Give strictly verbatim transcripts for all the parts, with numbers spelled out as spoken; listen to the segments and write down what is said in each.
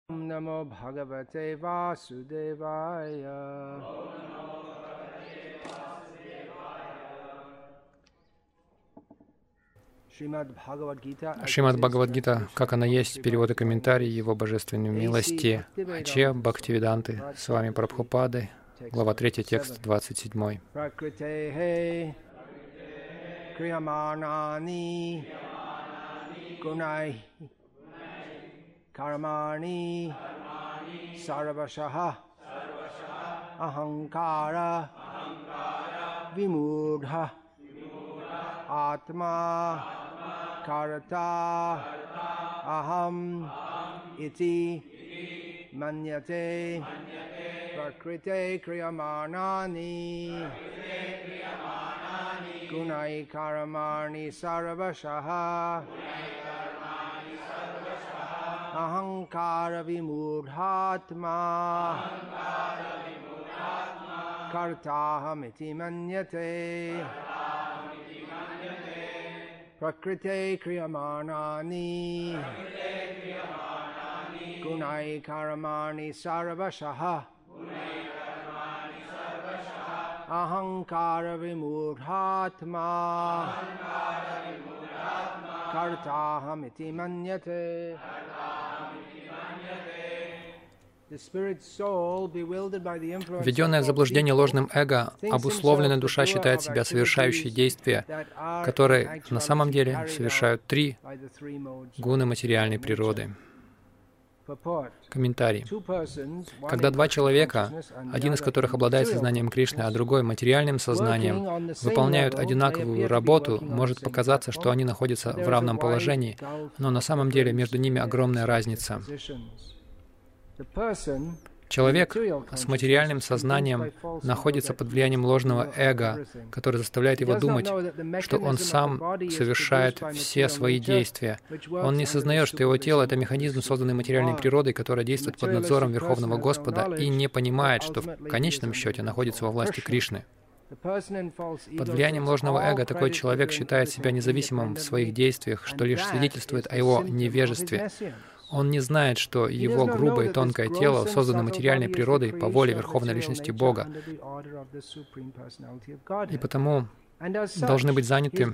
Namo Bhagavate Vasudevaya. Шримад Бхагавад-гита, как она есть, перевод и комментарий Его Божественной милости, Аче Бхактивиданты, с вами Прабхупады, глава третья, текст двадцать семь. Kriyamanani Gunai Karamani Sarvashaha Ahankara Vimudha Atma Karata Aham Iti Manyate Prakrite Kriyamanani Gunai Karamani Sarvashaha Ahankara Vimudhatma Kartahamiti Manyate Prakrite Kriyamanani Gunai Karamani Sarvashaha Ahankara Vimudhatma Kartahamiti Manyate. Введенная в заблуждение ложным эго, обусловленная душа считает себя совершающей действия, которые на самом деле совершают три гуны материальной природы. Комментарий. Когда два человека, один из которых обладает сознанием Кришны, а другой — материальным сознанием, выполняют одинаковую работу, может показаться, что они находятся в равном положении, но на самом деле между ними огромная разница. Человек с материальным сознанием находится под влиянием ложного эго, которое заставляет его думать, что он сам совершает все свои действия. Он не сознает, что его тело — это механизм, созданный материальной природой, который действует под надзором Верховного Господа, и не понимает, что в конечном счете находится во власти Кришны. Под влиянием ложного эго такой человек считает себя независимым в своих действиях, что лишь свидетельствует о его невежестве. Он не знает, что его грубое и тонкое тело создано материальной природой по воле Верховной Личности Бога, и потому должны быть заняты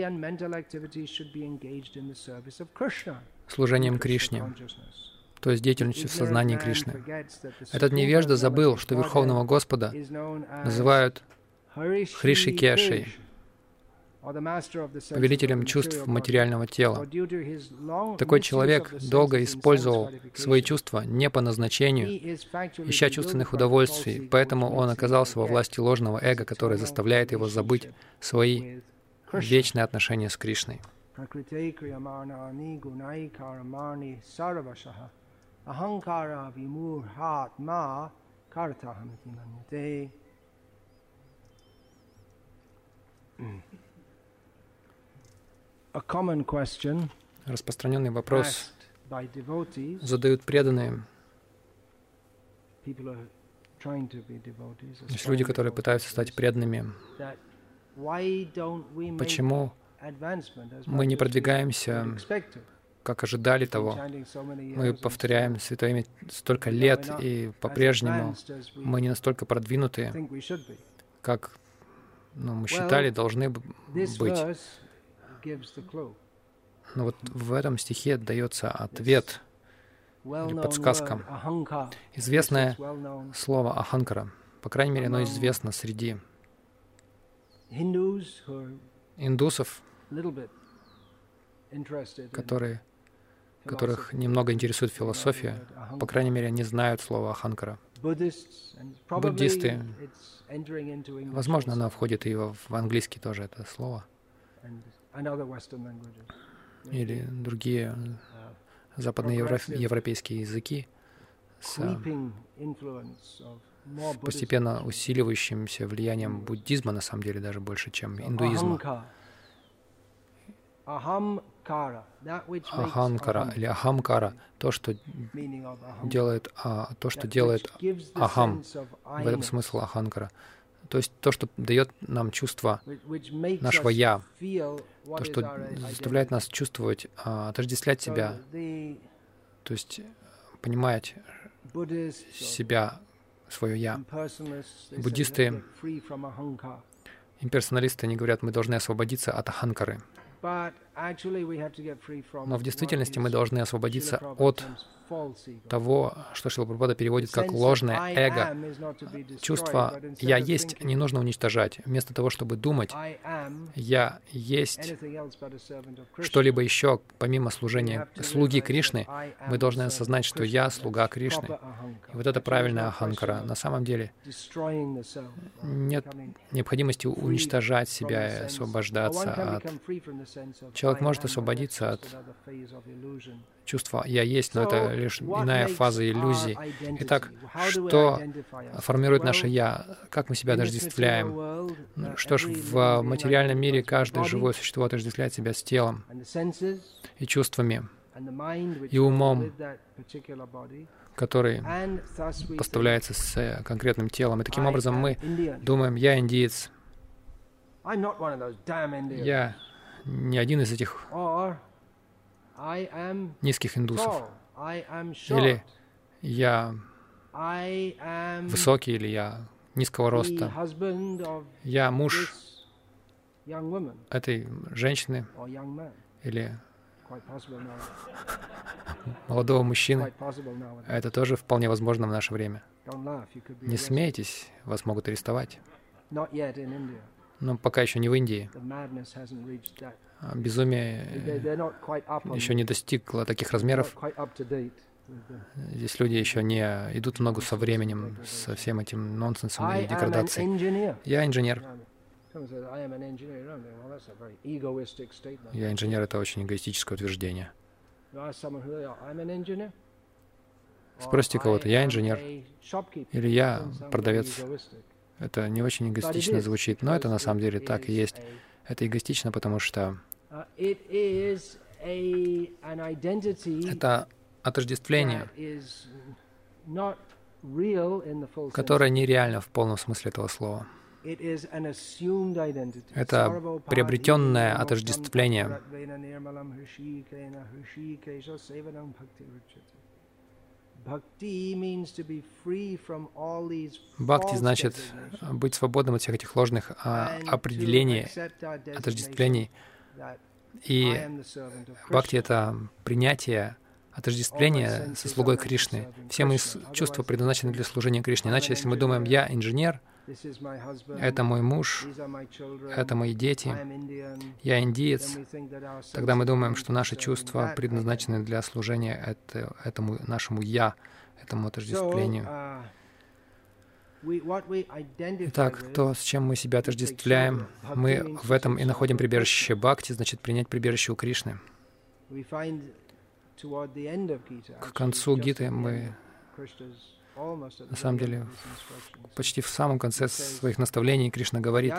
служением Кришне, то есть деятельностью в сознании Кришны. Этот невежда забыл, что Верховного Господа называют Хришикешей, повелителем чувств материального тела. Такой человек долго использовал свои чувства не по назначению, ища чувственных удовольствий, поэтому он оказался во власти ложного эго, которое заставляет его забыть свои вечные отношения с Кришной. Распространенный вопрос задают преданные. Есть люди, которые пытаются стать преданными. Почему мы не продвигаемся, как ожидали того? Мы повторяем Святое Имя столько лет, и по-прежнему мы не настолько продвинутые, как ну, мы считали, должны быть. Но вот в этом стихе дается ответ или подсказка. Известное слово «аханкара», по крайней мере, оно известно среди индусов, которые, которых немного интересует философия, по крайней мере, они знают слово «аханкара». Буддисты, возможно, оно входит и в английский тоже, это слово, или другие западноевропейские языки с постепенно усиливающимся влиянием буддизма, на самом деле, даже больше, чем индуизма. Аханкара или ахамкара, то, что делает, а, то, что делает ахам, в этом смысл аханкара. То есть то, что дает нам чувство нашего «я», то, что заставляет нас чувствовать, а, отождествлять себя, то есть понимать себя, свое «я». Буддисты, имперсоналисты, они говорят, мы должны освободиться от аханкары. Но в действительности мы должны освободиться от того, что Шрила Прабхупада переводит как ложное эго. Чувство «я есть» не нужно уничтожать. Вместо того, чтобы думать «я есть» что-либо еще, помимо служения слуги Кришны, мы должны осознать, что я слуга Кришны. И вот это правильная аханкара. На самом деле нет необходимости уничтожать себя и освобождаться от... Человек может освободиться от чувства «я есть», но это лишь иная фаза иллюзии. Итак, что формирует наше «я»? Как мы себя отождествляем? Что ж, в материальном мире каждое живое существо отождествляет себя с телом и чувствами, и умом, который поставляется с конкретным телом. И таким образом мы думаем «я индиец», «я не один из этих низких индусов», или «я высокий», или «я низкого роста», «я муж этой женщины», или молодого мужчины. Это тоже вполне возможно в наше время. Не смейтесь, вас могут арестовать. Но пока еще не в Индии. Безумие еще не достигло таких размеров. Здесь люди еще не идут в ногу со временем, со всем этим нонсенсом и деградацией. Я инженер. Я инженер — это очень эгоистическое утверждение. Спросите кого-то, я инженер или я продавец. Это не очень эгоистично звучит, но это на самом деле так и есть. Это эгоистично, потому что это отождествление, которое нереально в полном смысле этого слова. Это приобретенное отождествление. Бхакти значит быть свободным от всех этих ложных а, определений, отождествлений. И бхакти — это принятие отождествление со слугой Кришны. Все мои чувства предназначены для служения Кришне. Иначе, если мы думаем, я инженер, это мой муж, это мои дети, я индиец, тогда мы думаем, что наши чувства предназначены для служения это, этому нашему «я», этому отождествлению. Итак, то, с чем мы себя отождествляем, мы в этом и находим прибежище бхакти, значит, принять прибежище у Кришны. К концу Гиты мы, на самом деле, почти в самом конце своих наставлений Кришна говорит: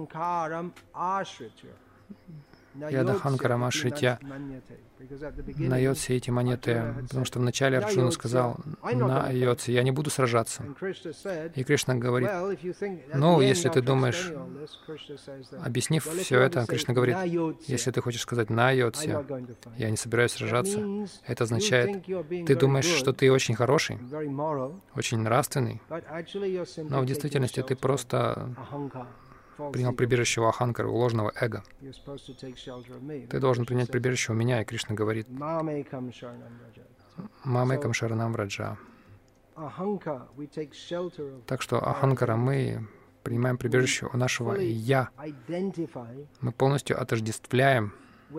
«Ядаханкарам ашритья найотся эти монеты», потому что вначале Арджуна сказал «найотся», «я не буду сражаться». И Кришна говорит: «Ну, если ты думаешь...» Объяснив все это, Кришна говорит: «Если ты хочешь сказать «найотся», я не собираюсь сражаться», это означает, ты думаешь, что ты очень хороший, очень нравственный, но в действительности ты просто принял прибежище у аханкары, у ложного эго. Ты должен принять прибежище у меня, и Кришна говорит: «Мамекам шаранам враджа». Так что аханкара, мы принимаем прибежище у нашего «я». Мы полностью отождествляем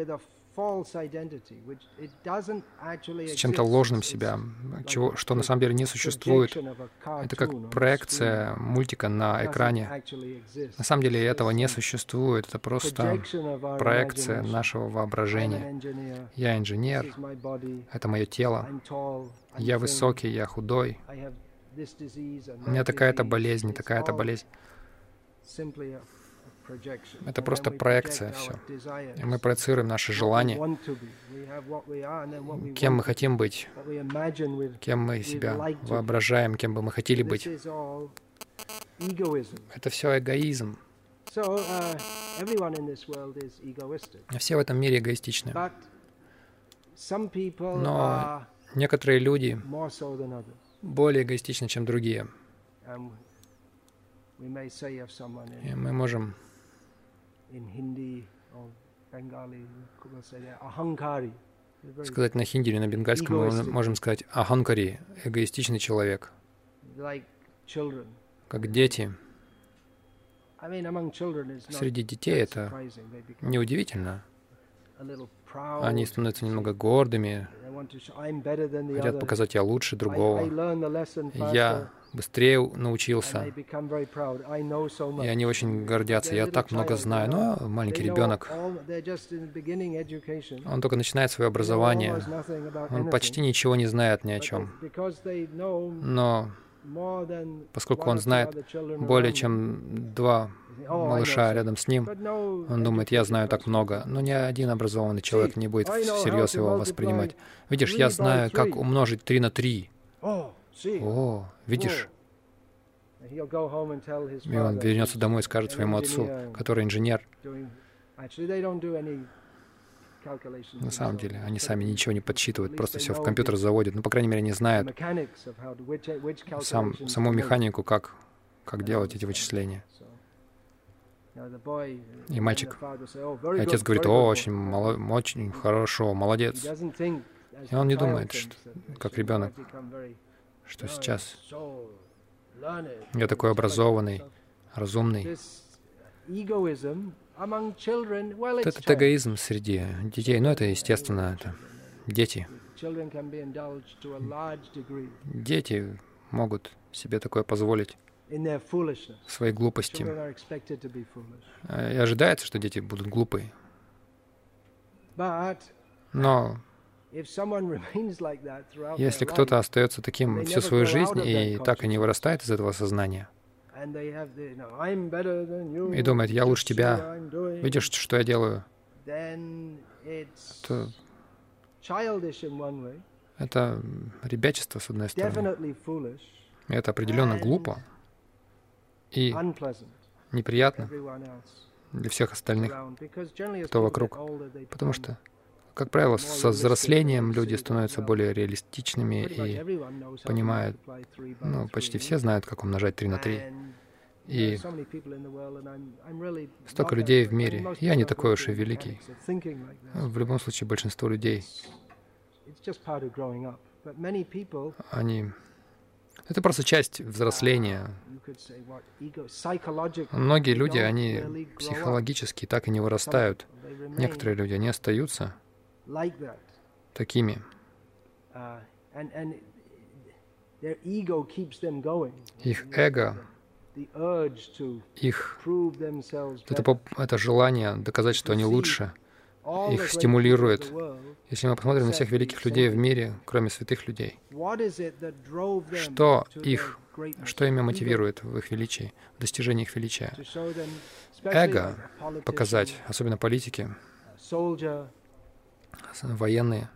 с чем-то ложным себя, чего, что на самом деле не существует. Это как проекция мультика на экране. На самом деле этого не существует. Это просто проекция нашего воображения. Я инженер, это мое тело. Я высокий, я худой. У меня такая-то болезнь, такая-то болезнь. Это просто проекция, все. И мы проецируем наши желания, кем мы хотим быть, кем мы себя воображаем, кем бы мы хотели быть. Это все эгоизм. Все в этом мире эгоистичны. Но Некоторые люди более эгоистичны, чем другие. И мы можем сказать на хинди или на бенгальском, мы можем сказать аханкари, эгоистичный человек, как дети. Среди детей это неудивительно. Они становятся немного гордыми, хотят показать, я лучше другого. Я быстрее научился. И они очень гордятся. Я так много знаю. Но маленький ребенок, он только начинает свое образование. Он почти ничего не знает ни о чем. Но поскольку он знает более чем два малыша рядом с ним, он думает, я знаю так много, но ни один образованный человек не будет всерьез его воспринимать. Видишь, я знаю, как умножить три на три. О, видишь? И он вернется домой и скажет своему отцу, который инженер. На самом деле, они сами ничего не подсчитывают, просто все в компьютер заводят. Ну, по крайней мере, они знают сам, саму механику, как, как делать эти вычисления. И мальчик, и отец говорит, о, очень, мало, очень хорошо, молодец. И он не думает, что, как ребенок, что сейчас я такой образованный, разумный. Этот эгоизм среди детей, ну это естественно, это дети. Дети могут себе такое позволить в своей глупости. И ожидается, что дети будут глупы. Но если кто-то остается таким всю свою жизнь и так и не вырастает из этого сознания, и думает, я лучше тебя, видишь, что я делаю, то это ребячество, с одной стороны. Это определенно глупо и неприятно для всех остальных, кто вокруг. Потому что, как правило, со взрослением люди становятся более реалистичными и понимают, ну, почти все знают, как умножать три на три. И столько людей в мире. Я не такой уж и великий. В любом случае, большинство людей, они... Это просто часть взросления. Многие люди, они психологически так и не вырастают. Некоторые люди, они остаются такими. Их эго, их это, это желание доказать, что они лучше, их стимулирует. Если мы посмотрим на всех великих людей в мире, кроме святых людей, что их, что ими мотивирует в их величии, в достижении их величия? Эго показать, особенно политики, военные.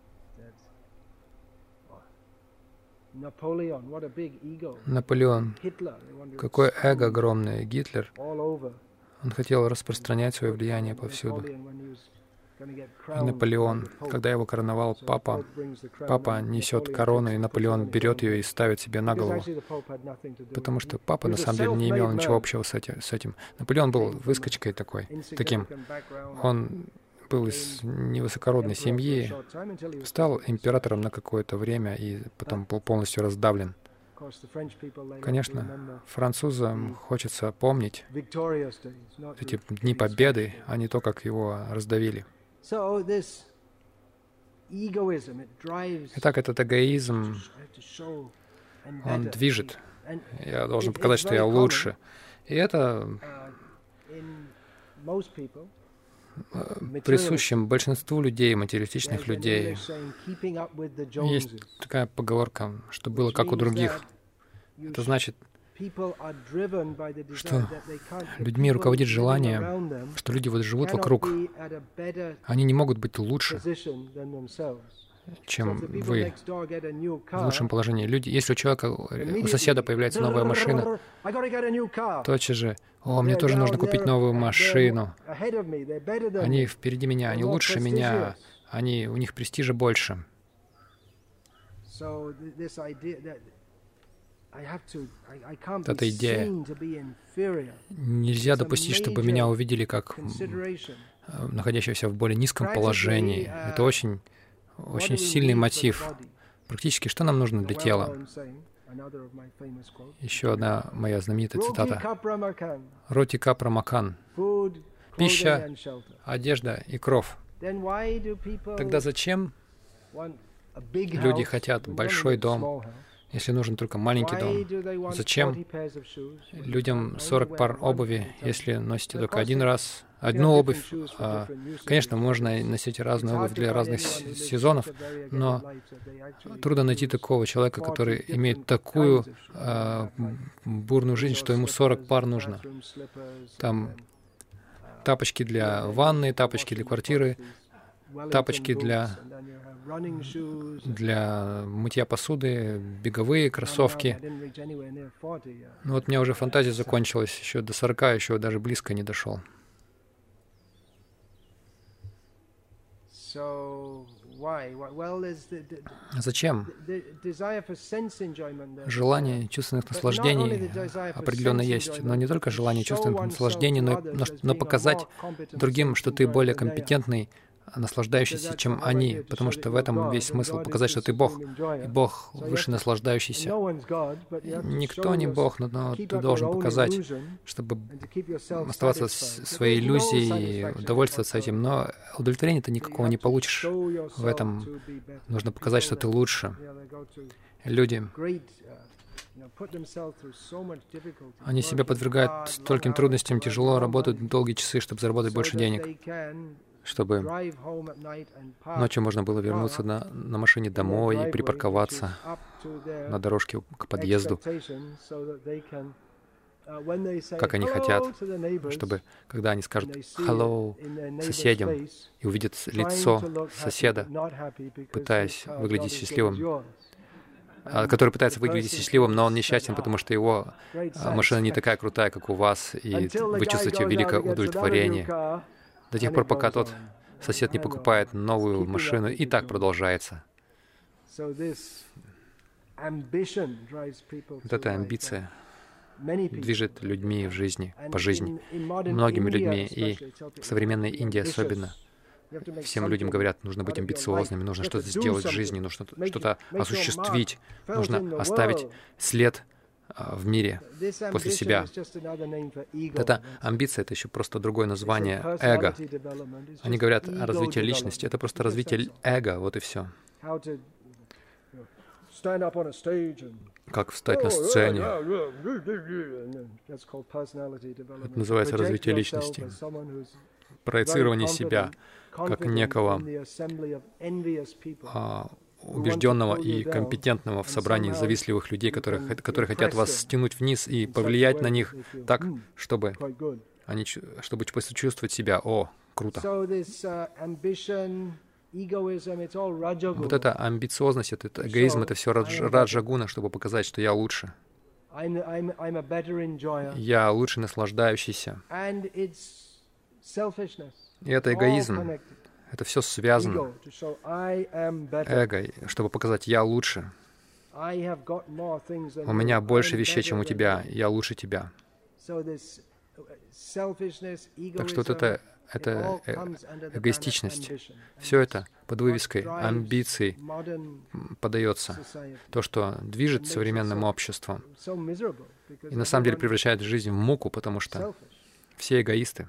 Наполеон, какое эго огромное, Гитлер, он хотел распространять свое влияние повсюду. И Наполеон, когда его короновал папа, папа несет корону, и Наполеон берет ее и ставит себе на голову. Потому что папа на самом деле не имел ничего общего с этим. Наполеон был выскочкой такой, таким. Он был из невысокородной семьи, стал императором на какое-то время и потом был полностью раздавлен. Конечно, французам хочется помнить эти дни победы, а не то, как его раздавили. Итак, этот эгоизм, он движет. Я должен показать, что я лучше. И это присущим большинству людей, материалистичных людей. Есть такая поговорка, что было как у других. Это значит, что людьми руководит желание, что люди вот живут вокруг. Они не могут быть лучше, чем вы, в лучшем положении. Люди, если у человека, у соседа появляется новая машина, тотчас же, о, мне тоже нужно купить новую машину. Они впереди меня, они лучше меня, они, у них престижа больше. Эта идея. Нельзя допустить, чтобы меня увидели как находящегося в более низком положении. Это очень, очень сильный мотив. Практически, что нам нужно для тела? Еще одна моя знаменитая цитата. Роти капра макан. Пища, одежда и кров. Тогда зачем люди хотят большой дом, если нужен только маленький дом? Зачем людям сорок пар обуви, если носите только один раз одну обувь? А, конечно, можно носить разную обувь для разных сезонов, но трудно найти такого человека, который имеет такую а, бурную жизнь, что ему сорок пар нужно. Там тапочки для ванны, тапочки для квартиры, тапочки для, для мытья посуды, беговые кроссовки. Ну вот у меня уже фантазия закончилась, еще до сорока, еще даже близко не дошел. Зачем? Желание чувственных наслаждений определенно есть, но не только желание чувственных наслаждений, но, но, но показать другим, что ты более компетентный, наслаждающийся, чем они, потому что в этом весь смысл — показать, что ты Бог, и Бог выше наслаждающийся. Никто не Бог, но, но ты должен показать, чтобы оставаться в своей иллюзии и удовольствоваться этим, но удовлетворения ты никакого не получишь. В этом нужно показать, что ты лучше. Люди, они себя подвергают стольким трудностям, тяжело работают долгие часы, чтобы заработать больше денег, чтобы ночью можно было вернуться на, на машине домой и припарковаться на дорожке к подъезду, как они хотят, чтобы, когда они скажут «hello» соседям и увидят лицо соседа, пытаясь выглядеть счастливым, который пытается выглядеть счастливым, но он несчастен, потому что его машина не такая крутая, как у вас, и вы чувствуете великое удовлетворение. До тех пор, пока тот сосед не покупает новую машину, и так продолжается. Вот эта амбиция движет людьми в жизни, по жизни, многими людьми, и в современной Индии особенно. Всем людям говорят, нужно быть амбициозными, нужно что-то сделать в жизни, нужно что-то осуществить, нужно оставить след в мире после себя. Эта амбиция — это еще просто другое название эго. Они говорят о развитии личности. Это просто развитие эго, вот и все. Как встать на сцене. Это называется развитие личности. Проецирование себя как некого а, убежденного и компетентного в собрании завистливых людей, которые, которые хотят вас стянуть вниз и повлиять на них так, чтобы они, чтобы почувствовать себя, о, круто. Вот эта амбициозность, этот эгоизм, это все раджагуна, чтобы показать, что я лучше. Я лучше наслаждающийся. И это эгоизм. Это все связано. Эго, чтобы показать, я лучше. У меня больше вещей, чем у тебя. Я лучше тебя. Так что вот это, это э эгоистичность. Все это под вывеской амбиций подается. То, что движет современным обществом. И на самом деле превращает жизнь в муку, потому что все эгоисты.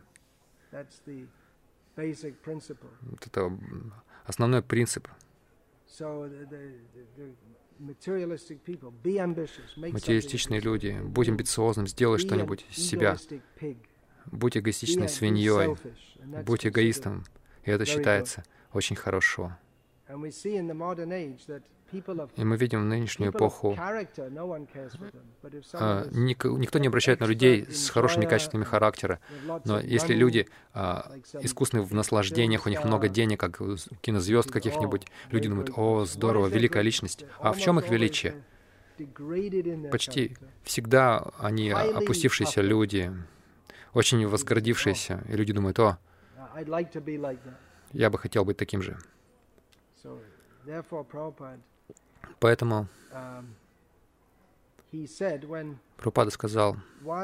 Вот это основной принцип. Материалистичные люди, будь амбициозным, сделай что-нибудь из себя. Будь эгоистичной свиньей, будь эгоистом. И это считается очень хорошо. И мы видим в нынешнюю эпоху, а, никто не обращает на людей с хорошими качествами характера, но если люди а, искусны в наслаждениях, у них много денег, как у кинозвезд каких-нибудь, люди думают, о, здорово, великая личность. А в чем их величие? Почти всегда они опустившиеся люди, очень возгордившиеся, и люди думают, о, я бы хотел быть таким же. Поэтому Прабхупада сказал,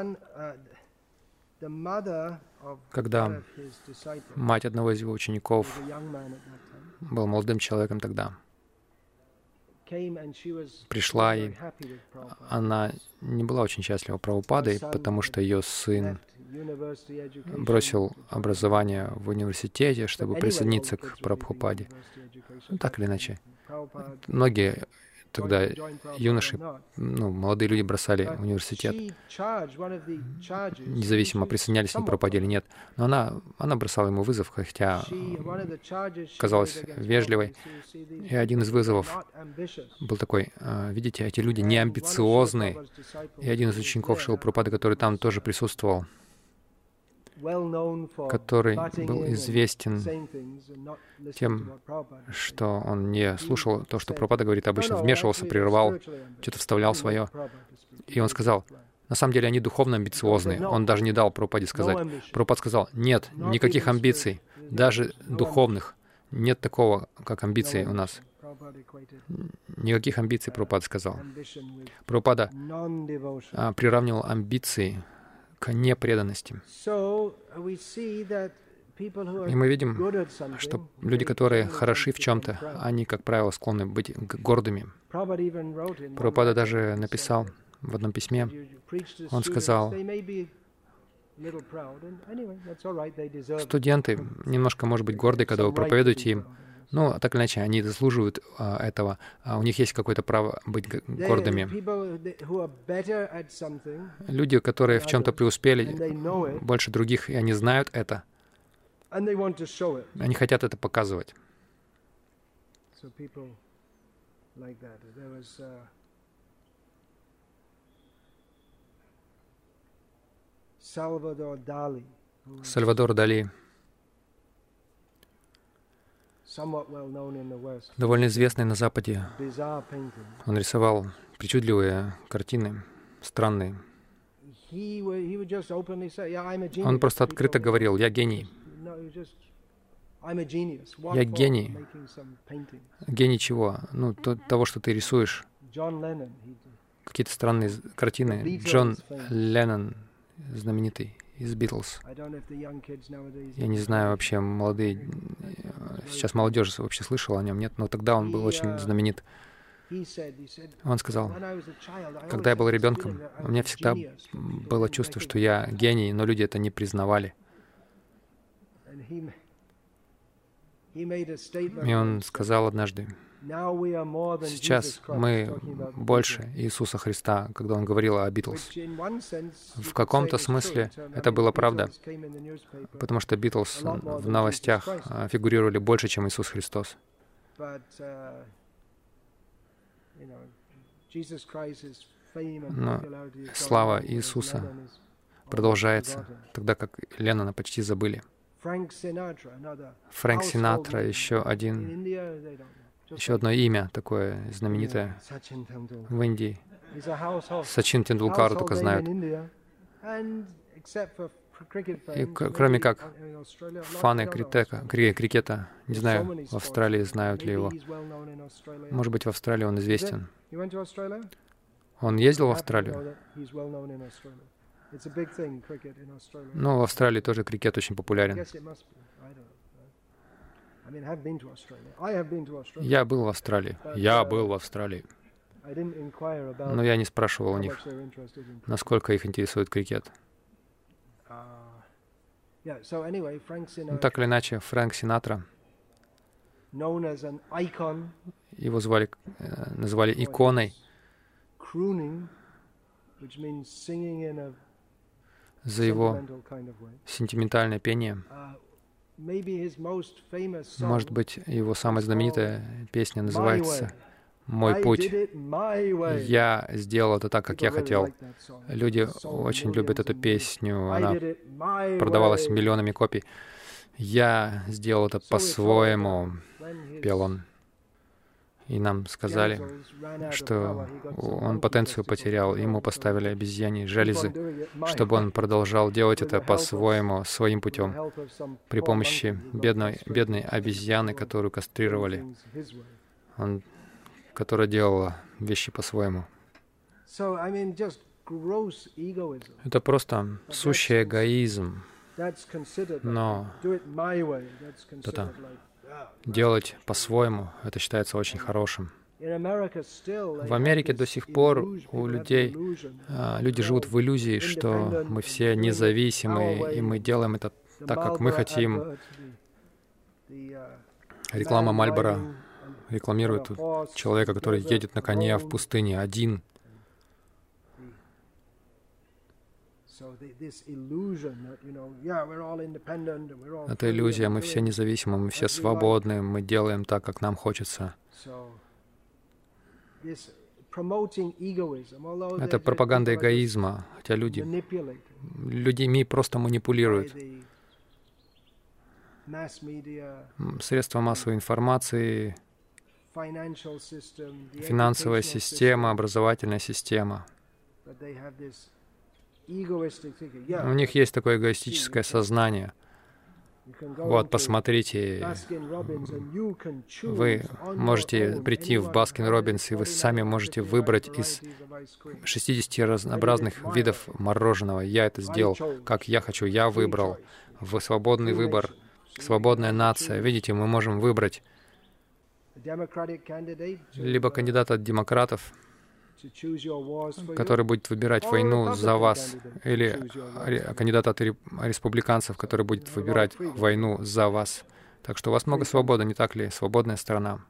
когда мать одного из его учеников, был молодым человеком тогда, пришла, и она не была очень счастлива Прабхупадой, потому что ее сын бросил образование в университете, чтобы присоединиться к Прабхупаде. Ну, так или иначе. Многие тогда юноши, ну, молодые люди бросали университет, независимо, присоединялись они к Прабхупаде или нет. Но она, она бросала ему вызов, хотя казалась вежливой. И один из вызовов был такой: видите, эти люди не амбициозны. И один из учеников Шрилы Прабхупады, который там тоже присутствовал, который был известен тем, что он не слушал то, что Прабхупада говорит, обычно вмешивался, прерывал, что-то вставлял свое. И он сказал, на самом деле они духовно амбициозны. Он даже не дал Прабхупаде сказать. Прабхупад сказал, нет, никаких амбиций, даже духовных. Нет такого, как амбиции у нас. Никаких амбиций, Прабхупада сказал. Прабхупада а, приравнивал амбиции к непреданности. И мы видим, что люди, которые хороши в чем-то, они, как правило, склонны быть гордыми. Прабхупада даже написал в одном письме, он сказал, студенты немножко, может быть, горды, когда вы проповедуете им. Ну, так или иначе, они заслуживают а, этого. А у них есть какое-то право быть гордыми. Люди, которые в чем-то преуспели больше других, и они знают это. Они хотят это показывать. Сальвадор Дали, довольно известный на Западе. Он рисовал причудливые картины, странные. Он просто открыто говорил, я гений. Я гений. Гений чего? Ну, то, того, что ты рисуешь. Какие-то странные картины. Джон Леннон, знаменитый, из Битлз. Я не знаю, вообще молодые, сейчас молодежь вообще слышала о нем, нет, но тогда он был очень знаменит. Он сказал, когда я был ребенком, у меня всегда было чувство, что я гений, но люди это не признавали. И он сказал однажды, сейчас мы больше Иисуса Христа, когда он говорил о Битлз. В каком-то смысле это была правда, потому что Битлз в новостях фигурировали больше, чем Иисус Христос. Но слава Иисуса продолжается, тогда как Леннона почти забыли. Фрэнк Синатра, еще один, еще одно имя такое знаменитое в Индии. Сачин Тендулкару только знают. И кроме как фаны крикета, крикета, не знаю, в Австралии знают ли его. Может быть, в Австралии он известен. Он ездил в Австралию? Ну, в Австралии тоже крикет очень популярен. Я был в Австралии. Я был в Австралии. Но я не спрашивал у них, насколько их интересует крикет. Ну, так или иначе, Фрэнк Синатра, его звали, называли иконой за его сентиментальное пение. Может быть, его самая знаменитая песня называется «Мой путь». Я сделал это так, как я хотел. Люди очень любят эту песню. Она продавалась миллионами копий. Я сделал это по-своему, пел он. И нам сказали, что он потенцию потерял, ему поставили обезьяньи железы, чтобы он продолжал делать это по-своему, своим путем, при помощи бедной, бедной обезьяны, которую кастрировали. Он которая делала вещи по-своему. Это просто сущий эгоизм. Но это делать по-своему, это считается очень хорошим. В Америке до сих пор у людей, люди живут в иллюзии, что мы все независимые, и мы делаем это так, как мы хотим. Реклама Мальборо рекламирует человека, который едет на коне в пустыне один. Это иллюзия, мы все независимы, мы все свободны, мы делаем так, как нам хочется. Это пропаганда эгоизма, хотя люди, людьми просто манипулируют. Средства массовой информации, финансовая система, образовательная система. У них есть такое эгоистическое сознание. Вот, посмотрите, вы можете прийти в Баскин-Роббинс, и вы сами можете выбрать из шестидесяти разнообразных видов мороженого. Я это сделал, как я хочу, я выбрал. В свободный выбор, свободная нация. Видите, мы можем выбрать либо кандидата от демократов, который будет выбирать войну за вас, или кандидата от республиканцев, который будет выбирать войну за вас. Так что у вас много свободы, не так ли? Свободная страна.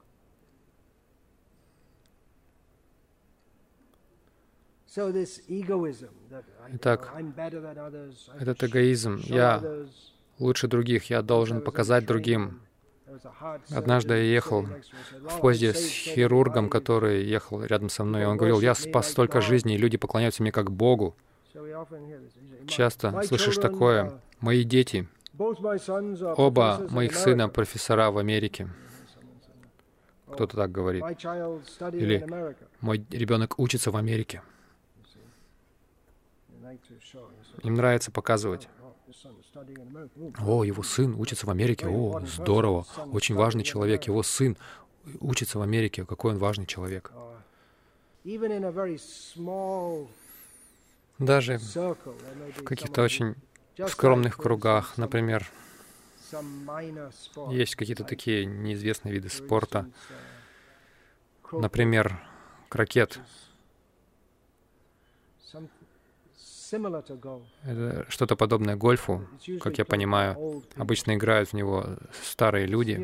Итак, этот эгоизм, я лучше других, я должен показать другим. Однажды я ехал в поезде с хирургом, который ехал рядом со мной, и он говорил: «Я спас столько жизней, и люди поклоняются мне как Богу». Часто слышишь такое: «Мои дети, оба моих сына профессора в Америке». Кто-то так говорит. Или «Мой ребенок учится в Америке». Им нравится показывать. О, его сын учится в Америке. О, здорово. Очень важный человек. Его сын учится в Америке. Какой он важный человек. Даже в каких-то очень скромных кругах, например, есть какие-то такие неизвестные виды спорта. Например, крокет. Это что-то подобное гольфу, как я понимаю. Обычно играют в него старые люди.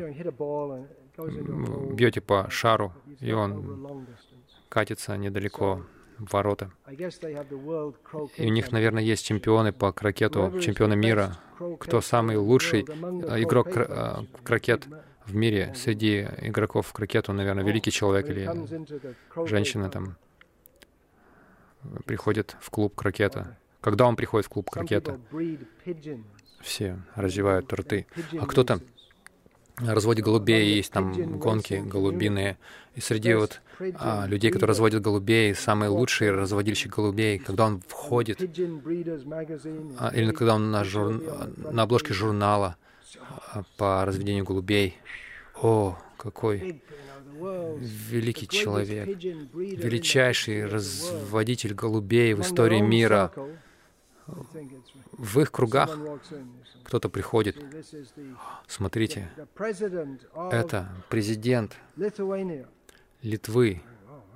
Бьете по шару, и он катится недалеко в ворота. И у них, наверное, есть чемпионы по крокету, чемпионы мира. Кто самый лучший игрок в крокет в мире среди игроков в крокету, наверное, великий человек или женщина там приходит в клуб крокета. Когда он приходит в клуб крокета, все разевают рты. А кто-то разводит голубей, есть там гонки голубиные. И среди вот а, людей, которые разводят голубей, самый лучший разводильщик голубей, когда он входит, а, или когда он на, жур... на обложке журнала а, по разведению голубей. О, какой великий человек, величайший разводитель голубей в истории мира. В их кругах кто-то приходит. Смотрите, это президент Литвы.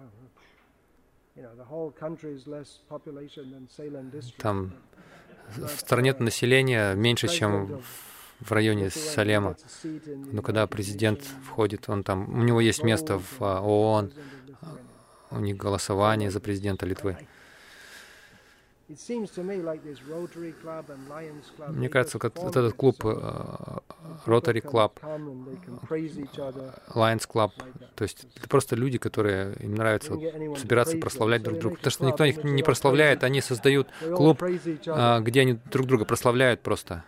Там в стране население меньше, чем в районе Салема. Но когда президент входит, он там, у него есть место в ООН, у них голосование за президента Литвы. Мне кажется, как вот этот клуб Rotary Club, Lions Club, то есть это просто люди, которые им нравится вот собираться прославлять друг друга. Потому что никто их не прославляет, они создают клуб, где они друг друга прославляют просто.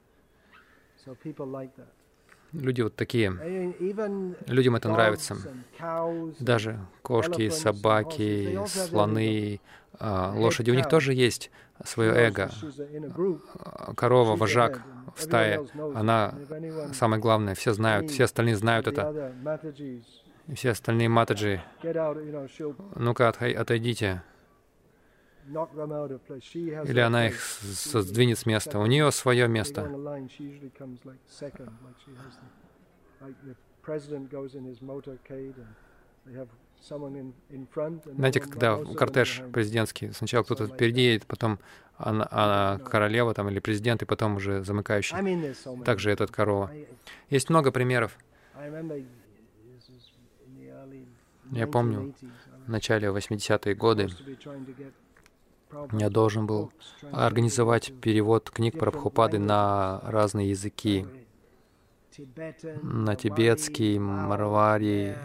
Люди вот такие. Людям это нравится. Даже кошки, собаки, слоны, лошади. У них тоже есть свое эго. Корова, вожак в стае, она самое главное. Все знают, все остальные знают это. И все остальные матаджи, ну-ка, отойдите. Или она их сдвинет с места. У нее свое место. Знаете, когда кортеж президентский, сначала кто-то впереди едет, потом она, она королева там, или президент, и потом уже замыкающий. Также этот корова. Есть много примеров. Я помню, в начале восьмидесятых годы я должен был организовать перевод книг Прабхупады на разные языки. На тибетский, марвари,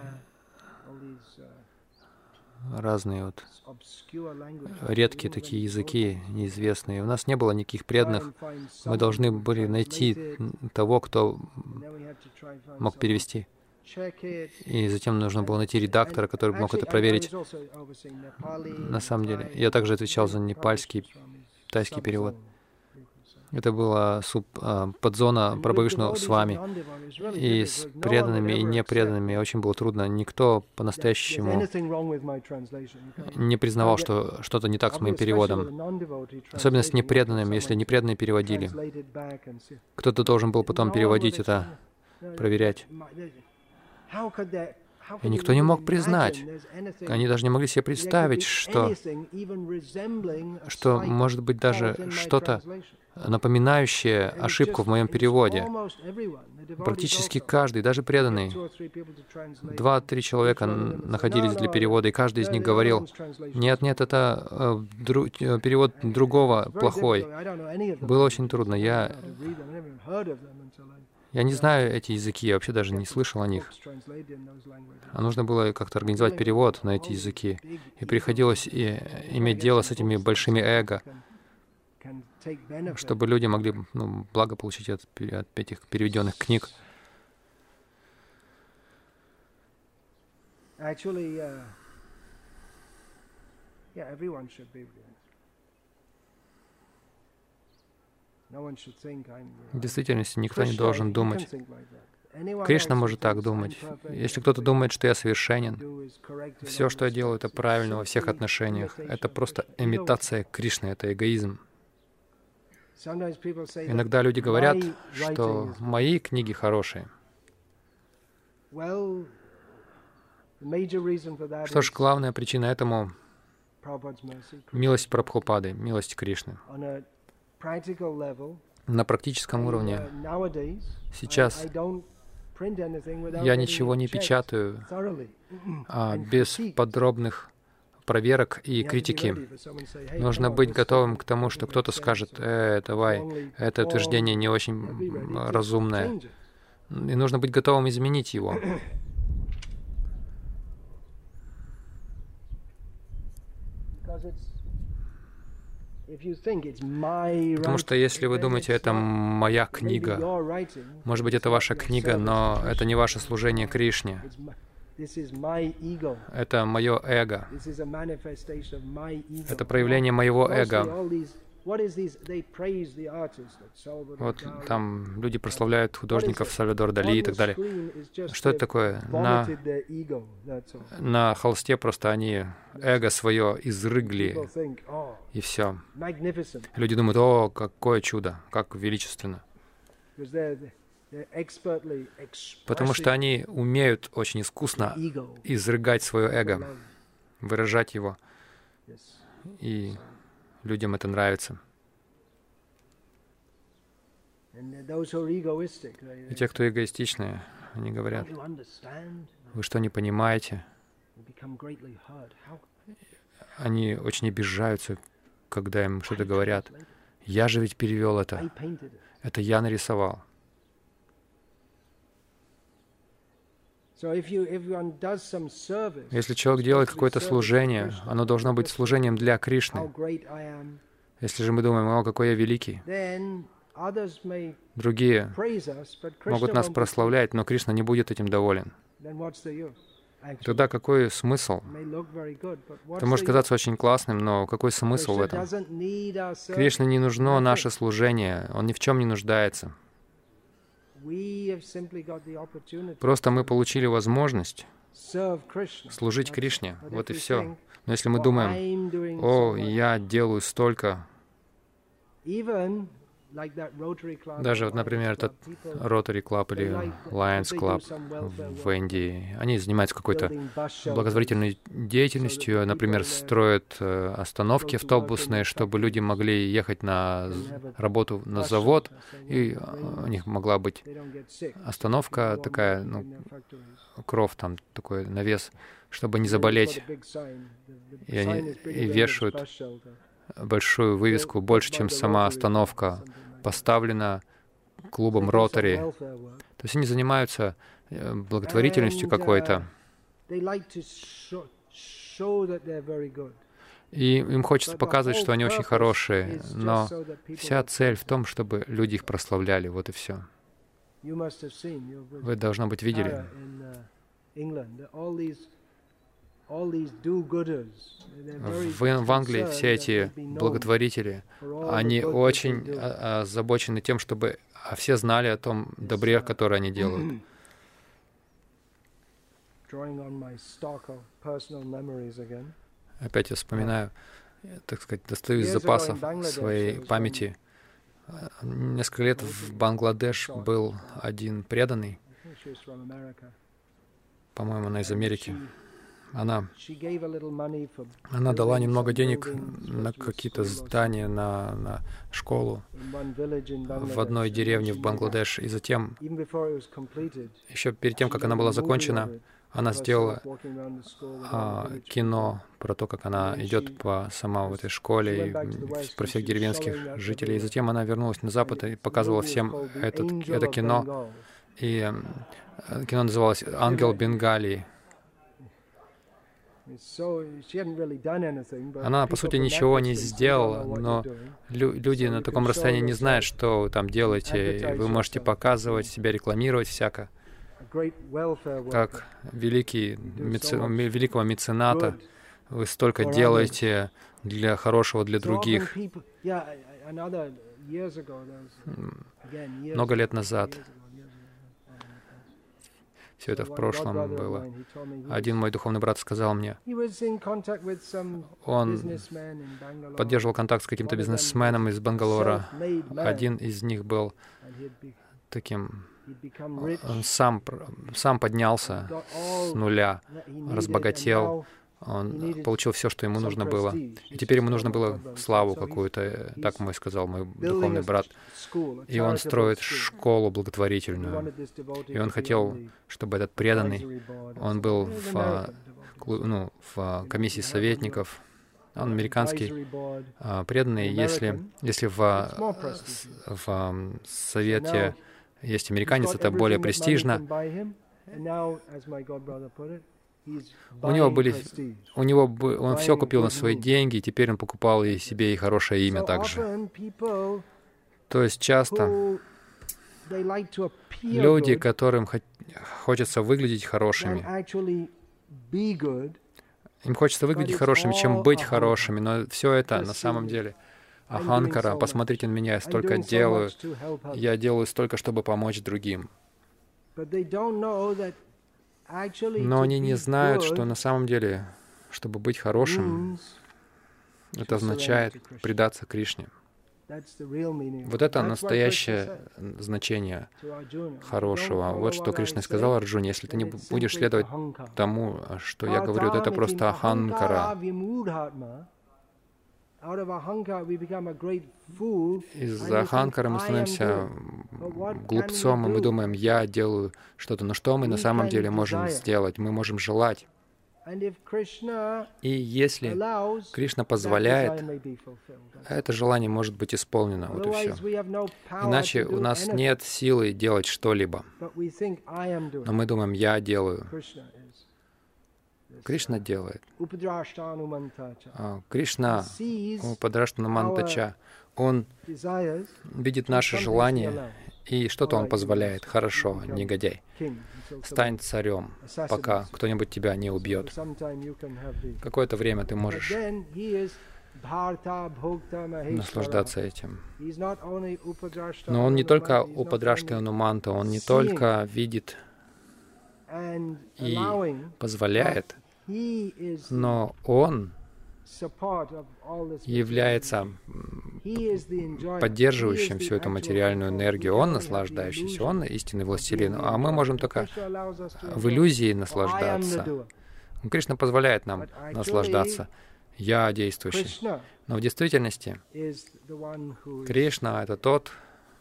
разные вот редкие такие языки, неизвестные. У нас не было никаких преданных. Мы должны были найти того, кто мог перевести. И затем нужно было найти редактора, который мог это проверить. На самом деле, я также отвечал за непальский, тайский перевод. Это была суб, а, подзона Прабхавишну с вами. И с преданными и непреданными очень было трудно. Никто по-настоящему не признавал, что что-то не так с моим переводом. Особенно с непреданными, если непреданные переводили. Кто-то должен был потом переводить это, проверять. И никто не мог признать. Они даже не могли себе представить, что, что может быть даже что-то напоминающее ошибку в моем переводе. Практически каждый, даже преданный, два-три человека находились для перевода, и каждый из них говорил: «Нет, нет, это э, дру, перевод другого плохой». Было очень трудно. Я, я не знаю эти языки, я вообще даже не слышал о них. А нужно было как-то организовать перевод на эти языки. И приходилось и иметь дело с этими большими эго, чтобы люди могли, ну, благо получить от, от этих переведенных книг. В действительности никто не должен думать. Кришна может так думать. Если кто-то думает, что я совершенен, все, что я делаю, это правильно во всех отношениях. Это просто имитация Кришны, это эгоизм. Иногда люди говорят, что мои книги хорошие. Что ж, главная причина этому — милость Прабхупады, милость Кришны. На практическом уровне сейчас я ничего не печатаю а, без подробных проверок и критики. Нужно быть готовым к тому, что кто-то скажет: «Э, давай, это утверждение не очень разумное». И нужно быть готовым изменить его. Потому что если вы думаете, это моя книга, может быть, это ваша книга, но это не ваше служение Кришне. Это мое эго. Это проявление моего эго. Вот там люди прославляют художников Сальвадор Дали и так далее. Что это такое? На, на холсте просто они эго свое изрыгли, и все. Люди думают: «О, какое чудо, как величественно». Потому что они умеют очень искусно изрыгать свое эго, выражать его. И людям это нравится. И те, кто эгоистичные, они говорят: «Вы что, не понимаете?» Они очень обижаются, когда им что-то говорят. «Я же ведь перевел это. Это я нарисовал». Если человек делает какое-то служение, оно должно быть служением для Кришны. Если же мы думаем: «О, какой я великий», другие могут нас прославлять, но Кришна не будет этим доволен. Тогда какой смысл? Это может казаться очень классным, но какой смысл в этом? Кришне не нужно наше служение, Он ни в чем не нуждается. Просто мы получили возможность служить Кришне. Вот и все. Но если мы думаем, о, я делаю столько, даже, вот, например, этот Rotary Club или Lions Club в Индии, они занимаются какой-то благотворительной деятельностью, например, строят остановки автобусные, чтобы люди могли ехать на работу на завод, и у них могла быть остановка такая, ну, кров там, такой навес, чтобы не заболеть, и они и вешают большую вывеску, больше, чем сама остановка, поставлена клубом Ротари. То есть они занимаются благотворительностью какой-то. И им хочется показывать, что они очень хорошие, но вся цель в том, чтобы люди их прославляли, вот и все. Вы, должно быть, видели. В, в Англии все эти благотворители, они очень озабочены тем, чтобы все знали о том добре, которое они делают. Опять я вспоминаю, так сказать, достаю из запасов своей памяти. Несколько лет в Бангладеш был один преданный, по-моему, она из Америки. Она, она дала немного денег на какие-то здания, на, на школу в одной деревне в Бангладеш. И затем, еще перед тем, как она была закончена, она сделала а, кино про то, как она идет по сама в этой школе, и про всех деревенских жителей. И затем она вернулась на Запад и показывала всем этот, это кино. И а, кино называлось «Ангел Бенгалии». Она, по сути, ничего не сделала, но лю люди на таком расстоянии не знают, что вы там делаете. Вы можете показывать себя, рекламировать всяко. Как великий, меци... великого мецената, вы столько делаете для хорошего для других. Много лет назад. Все это в прошлом было. Один мой духовный брат сказал мне, он поддерживал контакт с каким-то бизнесменом из Бангалора. Один из них был таким, он сам, сам поднялся с нуля, разбогател, он получил все, что ему нужно было. И теперь ему нужно было славу какую-то, так мой сказал мой духовный брат. И он строит школу благотворительную. И он хотел, чтобы этот преданный, он был в, ну, в комиссии советников, он американский преданный. Если, если в, в совете есть американец, это более престижно. У него были, у него он все купил на свои деньги, и теперь он покупал и себе и хорошее имя также. То есть часто люди, которым хочется выглядеть хорошими, им хочется выглядеть хорошими, чем быть хорошими, но все это на самом деле аханкара. Посмотрите на меня, я столько делаю, я делаю столько, чтобы помочь другим. Но они не знают, что на самом деле, чтобы быть хорошим, это означает предаться Кришне. Вот это настоящее значение хорошего. Вот что Кришна сказал Арджуне: если ты не будешь следовать тому, что я говорю, это просто аханкара. Из-за аханкара мы становимся глупцом, и мы думаем, я делаю что-то. Но что мы на самом деле можем сделать? Мы можем желать. И если Кришна позволяет, это желание может быть исполнено. Вот и все. Иначе у нас нет силы делать что-либо. Но мы думаем, я делаю. Кришна делает. Кришна, Упадраштанамантача, Он видит наши желания, и что-то Он позволяет. Хорошо, негодяй. Стань царем, пока кто-нибудь тебя не убьет. Какое-то время ты можешь наслаждаться этим. Но он не только Упадрашта-Ануманта, он не только видит и позволяет, но он является поддерживающим всю эту материальную энергию, он наслаждающийся, он истинный властелин, а мы можем только в иллюзии наслаждаться. Кришна позволяет нам наслаждаться. Я действующий. Но в действительности Кришна — это тот,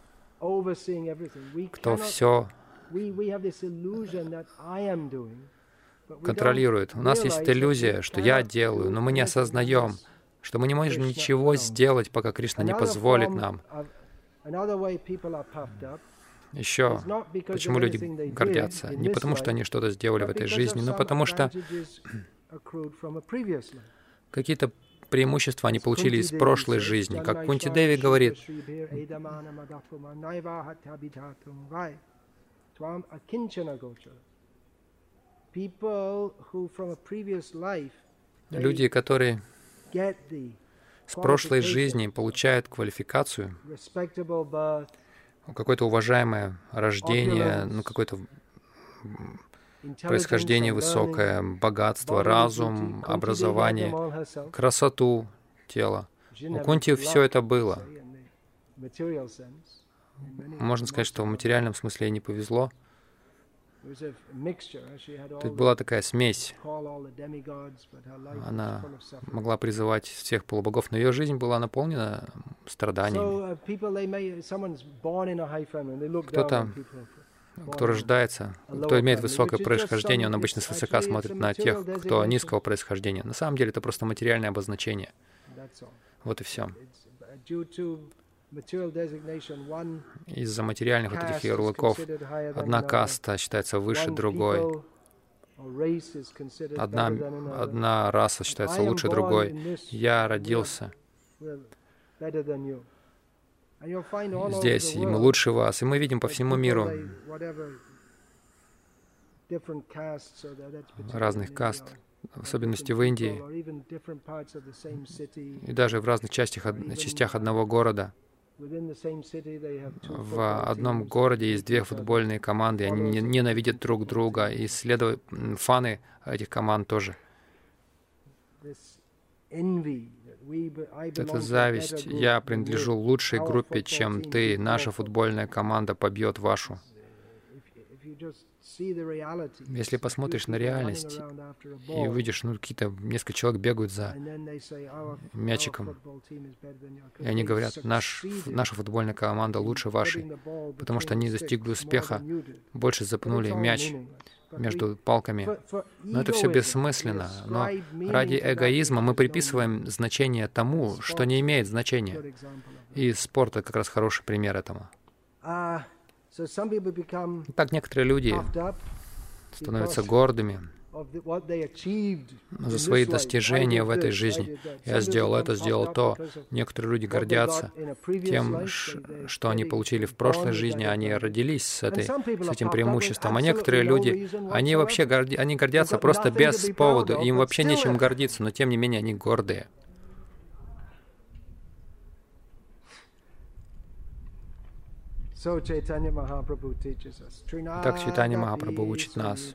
кто все контролирует. У нас есть иллюзия, что я делаю, но мы не осознаем, что мы не можем ничего сделать, пока Кришна не позволит нам. Еще, почему люди гордятся? Не потому, что они что-то сделали в этой жизни, но потому что какие-то преимущества они получили из прошлой жизни. Как Кунти Деви говорит, люди, которые с прошлой жизни получают квалификацию, какое-то уважаемое рождение, ну, какое-то происхождение высокое, богатство, разум, образование, красоту тела. У Кунти все это было. Можно сказать, что в материальном смысле ей не повезло. Тут была такая смесь. Она могла призывать всех полубогов, но ее жизнь была наполнена страданиями. Кто-то, кто рождается, кто имеет высокое происхождение, он обычно свысока смотрит на тех, кто низкого происхождения. На самом деле это просто материальное обозначение. Вот и все. Из-за материальных вот этих ярлыков одна каста считается выше другой, одна, одна раса считается лучше другой. Я родился здесь, и мы лучше вас. И мы видим по всему миру разных каст, в особенности в Индии, и даже в разных частях, частях одного города. В одном городе есть две футбольные команды, и они ненавидят друг друга, и следуют фаны этих команд тоже. Это зависть. Я принадлежу лучшей группе, чем ты. Наша футбольная команда побьет вашу. Если посмотришь на реальность и увидишь, ну, какие-то несколько человек бегают за мячиком, и они говорят, Наш, наша футбольная команда лучше вашей, потому что они достигли успеха, больше запнули мяч между палками. Но это все бессмысленно. Но ради эгоизма мы приписываем значение тому, что не имеет значения. И спорт — это как раз хороший пример этому. Так некоторые люди становятся гордыми за свои достижения в этой жизни. Я сделал это, сделал то. Некоторые люди гордятся тем, что они получили в прошлой жизни, они родились с, этой, с этим преимуществом. А некоторые люди, они вообще горди, они гордятся просто без повода, им вообще нечем гордиться, но тем не менее они гордые. Так Чайтанья Махапрабху учит нас.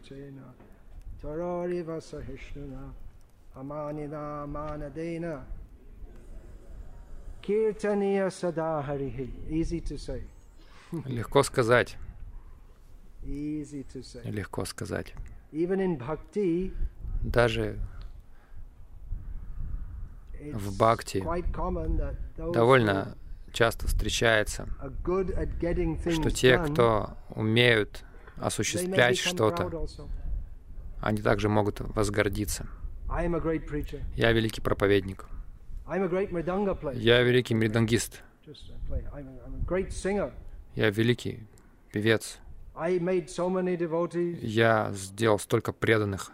Легко сказать. Легко сказать. Даже в бхакти довольно часто встречается, что те, кто умеют осуществлять что-то, они также могут возгордиться. Я великий проповедник. Я великий мридангист. Я великий певец. Я сделал столько преданных.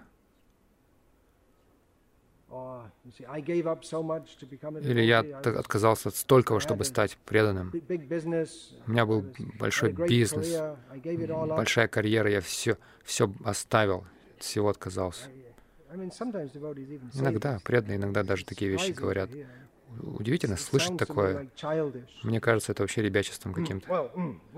Или я отказался от столького, чтобы стать преданным. У меня был большой бизнес, большая карьера, я все, все оставил, от всего отказался. Иногда преданные, иногда даже такие вещи говорят. удивительно слышать такое. Мне кажется, это вообще ребячеством каким-то.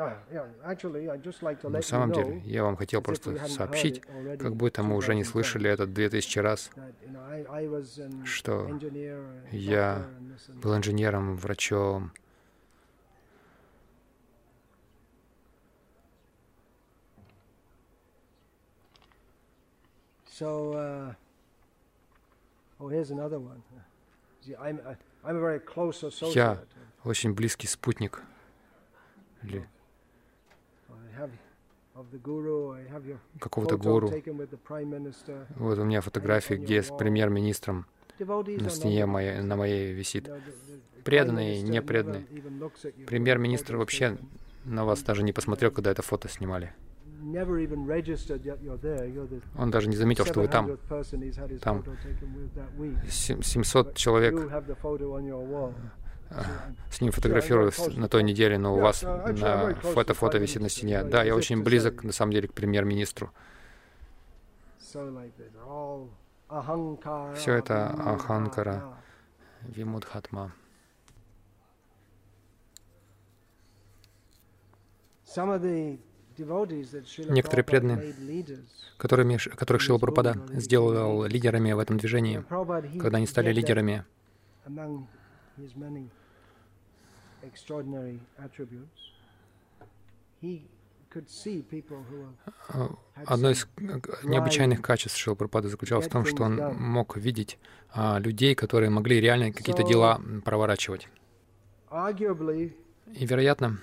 На самом деле, я вам хотел просто сообщить, как будто мы уже не слышали это две тысячи раз, что я был инженером, врачом. So, uh, oh, here's another one. See, I'm, I'm a very close associate. Я очень близкий спутник. Или какого-то гуру. Вот у меня фотография, где с премьер-министром на стене моей, на моей висит. Преданные, непреданные. Премьер-министр вообще на вас даже не посмотрел, когда это фото снимали. Он даже не заметил, что вы там. Там семьсот человек с ним фотографировались на той неделе, но у вас на фото фото висит на стене. Да, я очень близок, на самом деле, к премьер-министру. Все это аханкара, вимудхатма. Некоторые преданные, которыми, которых Шрила Прабхупада сделал лидерами в этом движении, когда они стали лидерами, одно из необычайных качеств Шрилы Прабхупады заключалось в том, что он мог видеть а, людей, которые могли реально какие-то дела проворачивать. И, вероятно,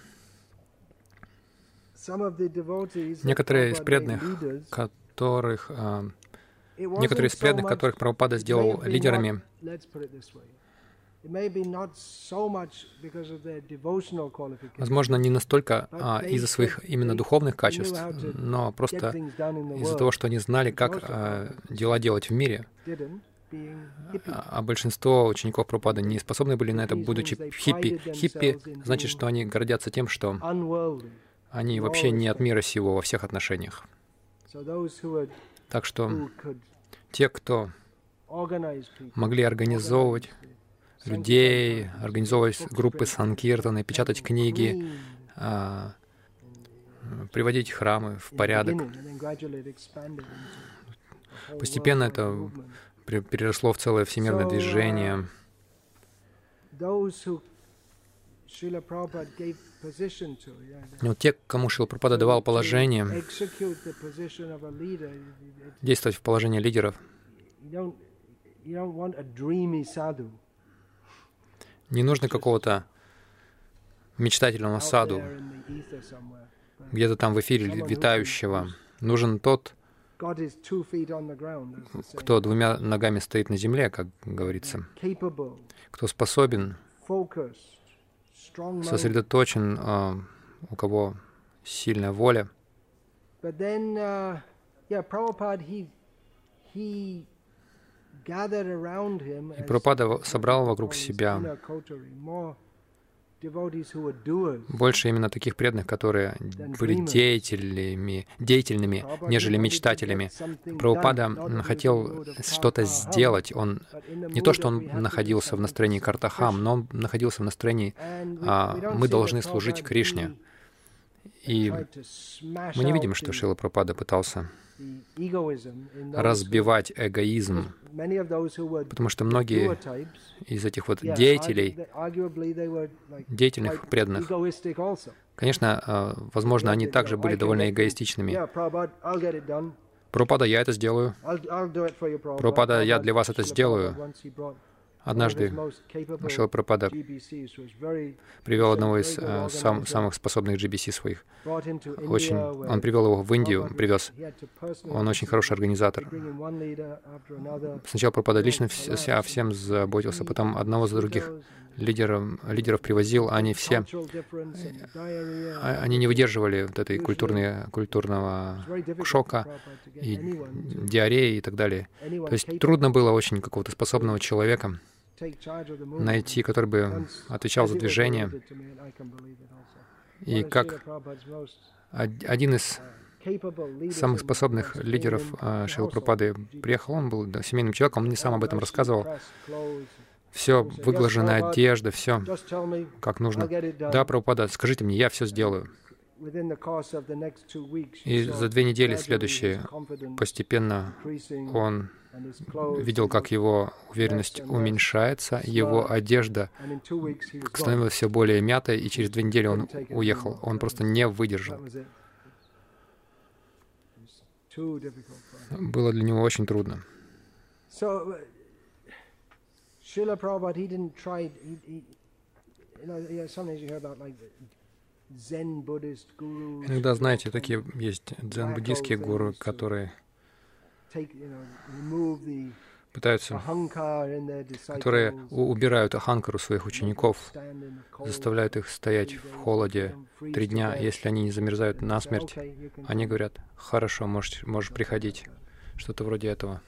некоторые из преданных, которых, а, некоторые из преданных, которых Прабхупада сделал лидерами, возможно, не настолько а, из-за своих именно духовных качеств, но просто из-за того, что они знали, как а, дела делать в мире. А большинство учеников Прабхупады не способны были на это, будучи хиппи. Хиппи значит, что они гордятся тем, что они вообще не от мира сего во всех отношениях. Так что те, кто могли организовывать людей, организовывать группы санкиртаны, печатать книги, а, приводить храмы в порядок. Постепенно это переросло в целое всемирное движение. Но те, кому Шрила Прабхупада давал положение, действовать в положении лидеров, не нужно какого-то мечтательного саду, где-то там в эфире витающего. Нужен тот, кто двумя ногами стоит на земле, как говорится, кто способен, сосредоточен, у кого сильная воля. И Прабхупада собрал вокруг себя больше именно таких преданных, которые были деятелями, деятельными, нежели мечтателями. Прабхупада хотел что-то сделать. Он не то, что он находился в настроении картахам, но он находился в настроении а, «мы должны служить Кришне». И мы не видим, что Шрила Прабхупада пытался разбивать эгоизм, потому что многие из этих вот деятелей, деятельных преданных, конечно, возможно, они также были довольно эгоистичными. Прабхупада, я это сделаю. Прабхупада, я для вас это сделаю. Однажды Шрила Прабхупада привел одного из э, сам, самых способных джи би си своих. Очень, он привел его в Индию, привез. Он очень хороший организатор. Сначала Прабхупада лично вся, всем заботился, потом одного за других лидеров, лидеров привозил. Они все, они не выдерживали вот этой культурной, культурного шока и диареи и так далее. То есть трудно было очень какого-то способного человека найти, который бы отвечал за движение. И как один из самых способных лидеров Шрилы Прабхупады приехал, он был да, семейным человеком, он мне сам об этом рассказывал. все, выглаженная одежда, все как нужно. Да, Прабхупада, скажите мне, я все сделаю. И за две недели следующие постепенно он видел, как его уверенность уменьшается, его одежда становилась все более мятой, и через две недели он уехал. Он просто не выдержал. Было для него очень трудно. Иногда, знаете, такие есть дзен-буддийские гуру, которые пытаются, которые убирают аханкару своих учеников, заставляют их стоять в холоде три дня. Если они не замерзают насмерть, они говорят: «Хорошо, можешь, можешь приходить». Что-то вроде этого.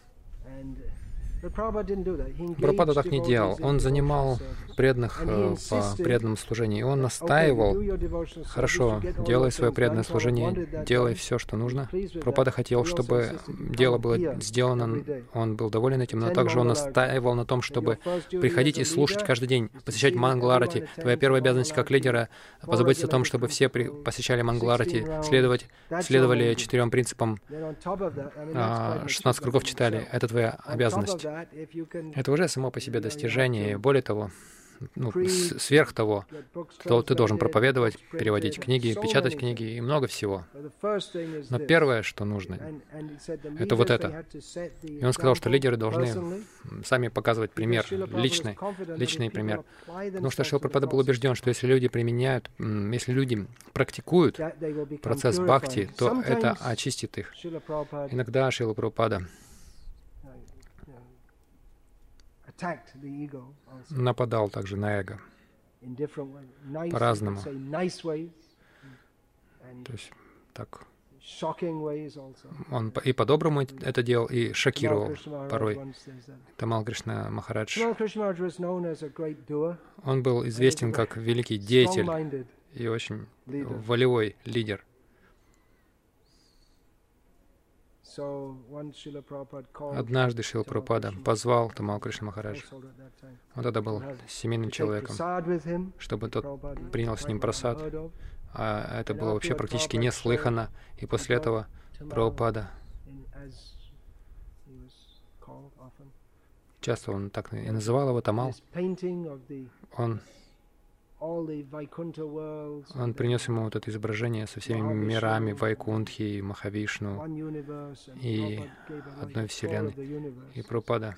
Прабхупада так не делал. Он занимал преданных э, по преданному служению. И он настаивал: «Хорошо, делай свое преданное служение, делай все, что нужно». Прабхупада хотел, чтобы дело было сделано, он был доволен этим, но также он настаивал на том, чтобы приходить и слушать каждый день, посещать Мангаларати. Твоя первая обязанность как лидера — позаботиться о том, чтобы все при... посещали Мангаларати, следовать, следовали четырем принципам, шестнадцать кругов читали. Это твоя обязанность. Это уже само по себе достижение. И более того, ну, сверх того, то ты должен проповедовать, переводить книги, печатать книги и много всего. Но первое, что нужно, это вот это. И он сказал, что лидеры должны сами показывать пример, личный, личный пример. Потому что Шрила Прабхупада был убежден, что если люди применяют, если люди практикуют процесс бхакти, то это очистит их. Иногда Шрила Прабхупада нападал также на эго по-разному. То есть так. Он и по-доброму это делал, и шокировал порой. Тамал Кришна Махарадж, он был известен как великий деятель и очень волевой лидер. Однажды Шрила Прабхупада позвал Тамал Кришна Махараджа. Он тогда был семейным человеком, чтобы тот принял с ним прасад. А это было вообще практически неслыханно. И после этого Прабхупада, часто он так и называл его Тамал, он Он принес ему вот это изображение со всеми мирами Вайкунтхи, Махавишну и одной вселенной. И Прабхупада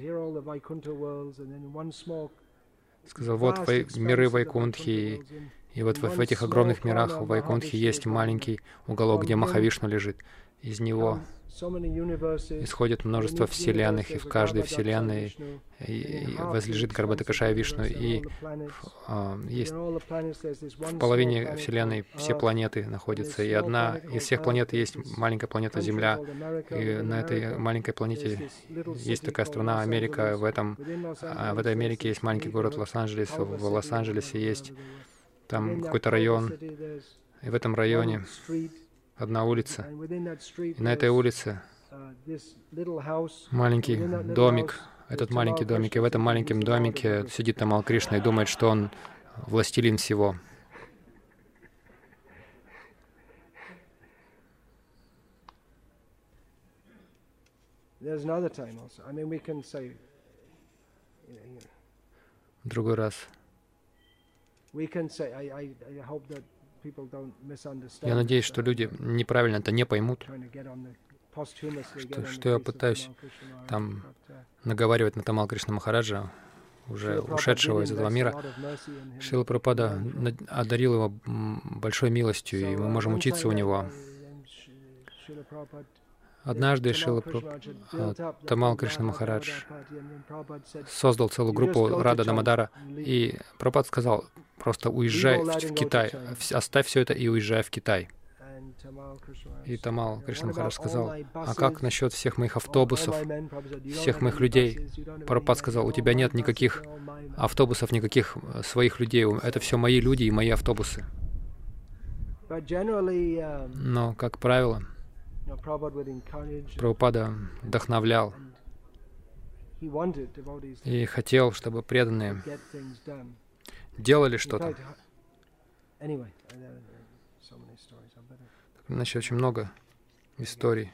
сказал: вот вай, миры Вайкунтхи, и вот в, в этих огромных мирах в Вайкунтхи есть маленький уголок, где Махавишну лежит. Из него исходит множество вселенных, и в каждой вселенной возлежит Гарбхадакашая Вишну, и а, есть в половине вселенной все планеты находятся, и одна из всех планет есть маленькая планета Земля, и на этой маленькой планете есть такая страна Америка, в, этом, а в этой Америке есть маленький город Лос-Анджелес, в Лос-Анджелесе есть там какой-то район, и в этом районе одна улица, и на этой улице маленький домик, этот маленький домик, и в этом маленьком домике сидит Тамал Кришна и думает, что он властелин всего. Другой раз. Я надеюсь, что люди неправильно это не поймут, что, что я пытаюсь там наговаривать на Тамал Кришна Махараджа, уже ушедшего из этого мира. Шрила Прабхупада одарил его большой милостью, и мы можем учиться у него. Однажды Шрила Прабхупада, Тамал Кришна Махарадж создал целую группу Рада Дамодара, и Прабхупада сказал: просто уезжай в Китай, оставь все это и уезжай в Китай. И Тамал Кришна Махарадж сказал: а как насчет всех моих автобусов, всех моих людей? Прабхупада сказал: у тебя нет никаких автобусов, никаких своих людей, это все мои люди и мои автобусы. Но, как правило, Прабхупада вдохновлял и хотел, чтобы преданные делали что-то. Иначе очень много историй.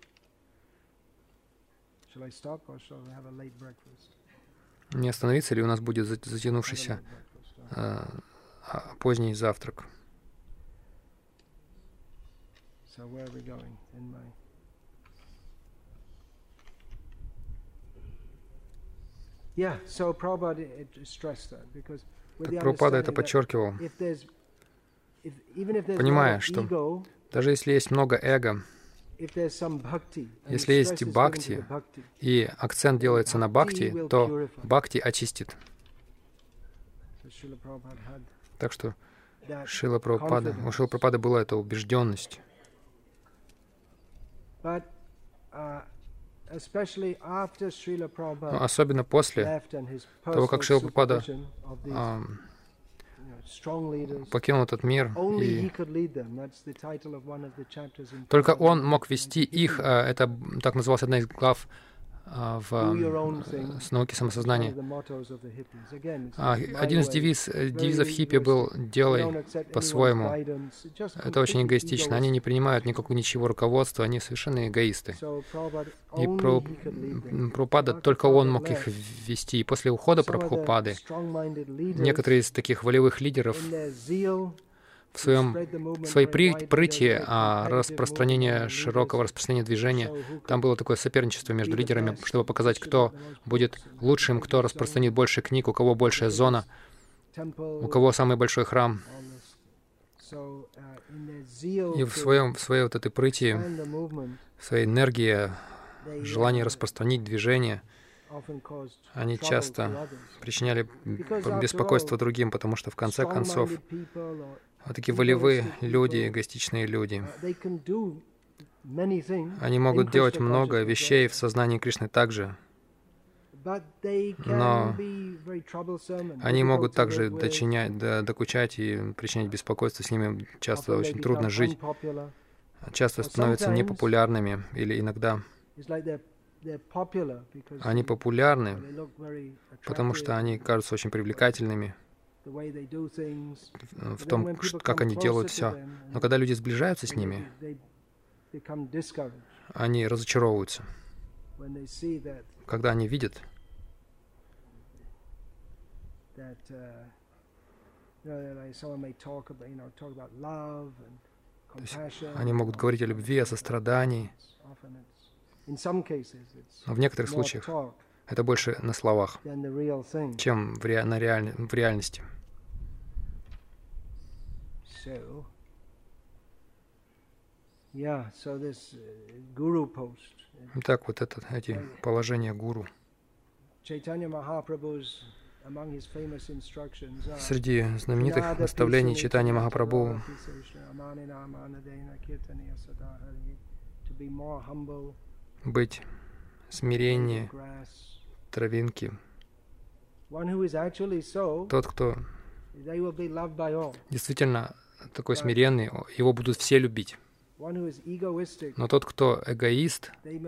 Не остановиться ли у нас будет затянувшийся э, поздний завтрак? Так Прабхупада это подчеркивал, понимая, что даже если есть много эго, если есть бхакти, и акцент делается на бхакти, то бхакти очистит. Так что Шрила Прабхупада, у Шрила Прабхупады была эта убежденность. Но особенно после того, как Шрила Прабхупада а, покинул этот мир, и только он мог вести их, это так называлась одна из глав в с науки самосознания. Один из девиз, девизов хиппи был «делай по-своему». Это очень эгоистично. Они не принимают никакого ничего руководства, они совершенно эгоисты. И Прабхупада, только он мог их вести. И после ухода Прабхупады некоторые из таких волевых лидеров в своем, в своей прыти а, распространения, широкого распространения движения, там было такое соперничество между лидерами, чтобы показать, кто будет лучшим, кто распространит больше книг, у кого большая зона, у кого самый большой храм. И в, своем, в своей вот этой прыти, в своей энергии, желании распространить движение, они часто причиняли беспокойство другим, потому что в конце концов вот такие волевые люди, эгоистичные люди, они могут делать много вещей в сознании Кришны также, но они могут также дочинять, докучать и причинять беспокойство, с ними часто очень трудно жить, часто становятся непопулярными, или иногда они популярны, потому что они кажутся очень привлекательными в том, как они делают все. Но когда люди сближаются с ними, они разочаровываются. Когда они видят, то есть они могут говорить о любви, о сострадании, но в некоторых случаях это больше на словах, чем в, ре... на реаль... в реальности. Итак, вот это, эти положения гуру. Среди знаменитых наставлений Чайтанья Махапрабху быть смирение травинки. Тот, кто действительно такой смиренный, его будут все любить. Но тот, кто эгоист,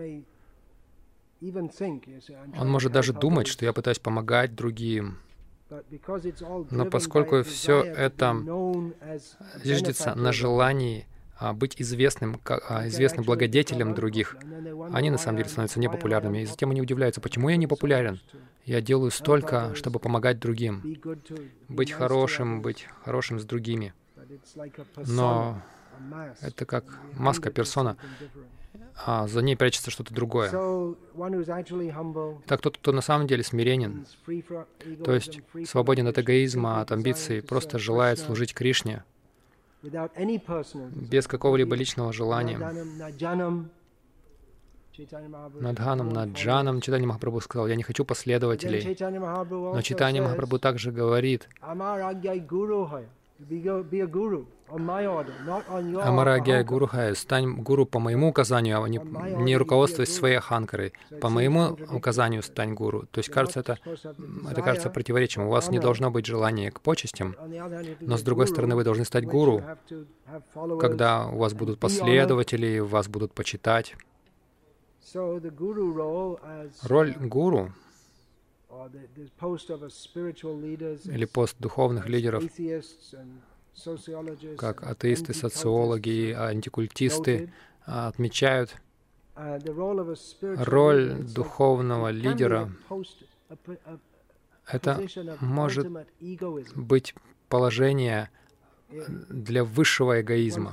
он может даже думать, что я пытаюсь помогать другим. Но поскольку все это зиждется на желании быть известным, известным благодетелем других, они на самом деле становятся непопулярными. И затем они удивляются, почему я не популярен? Я делаю столько, чтобы помогать другим, быть хорошим, быть хорошим с другими. Но это как маска, персона, а за ней прячется что-то другое. Так тот, кто на самом деле смиренен, то есть свободен от эгоизма, от амбиций, просто желает служить Кришне, без какого-либо личного желания. Надханом, Наджаном Чайтанья Махапрабху сказал, я не хочу последователей. Но Чайтанья Махапрабху также говорит, Амарагья Гуру Хай, стань гуру по моему указанию, а не, не руководствуясь своей аханкарой. По моему указанию стань гуру. То есть, кажется, это, это кажется противоречием. У вас не должно быть желания к почестям, но, с другой стороны, вы должны стать гуру, когда у вас будут последователи, вас будут почитать. Роль гуру или пост духовных лидеров, как атеисты, социологи и антикультисты, отмечают, роль духовного лидера — это может быть положение для высшего эгоизма.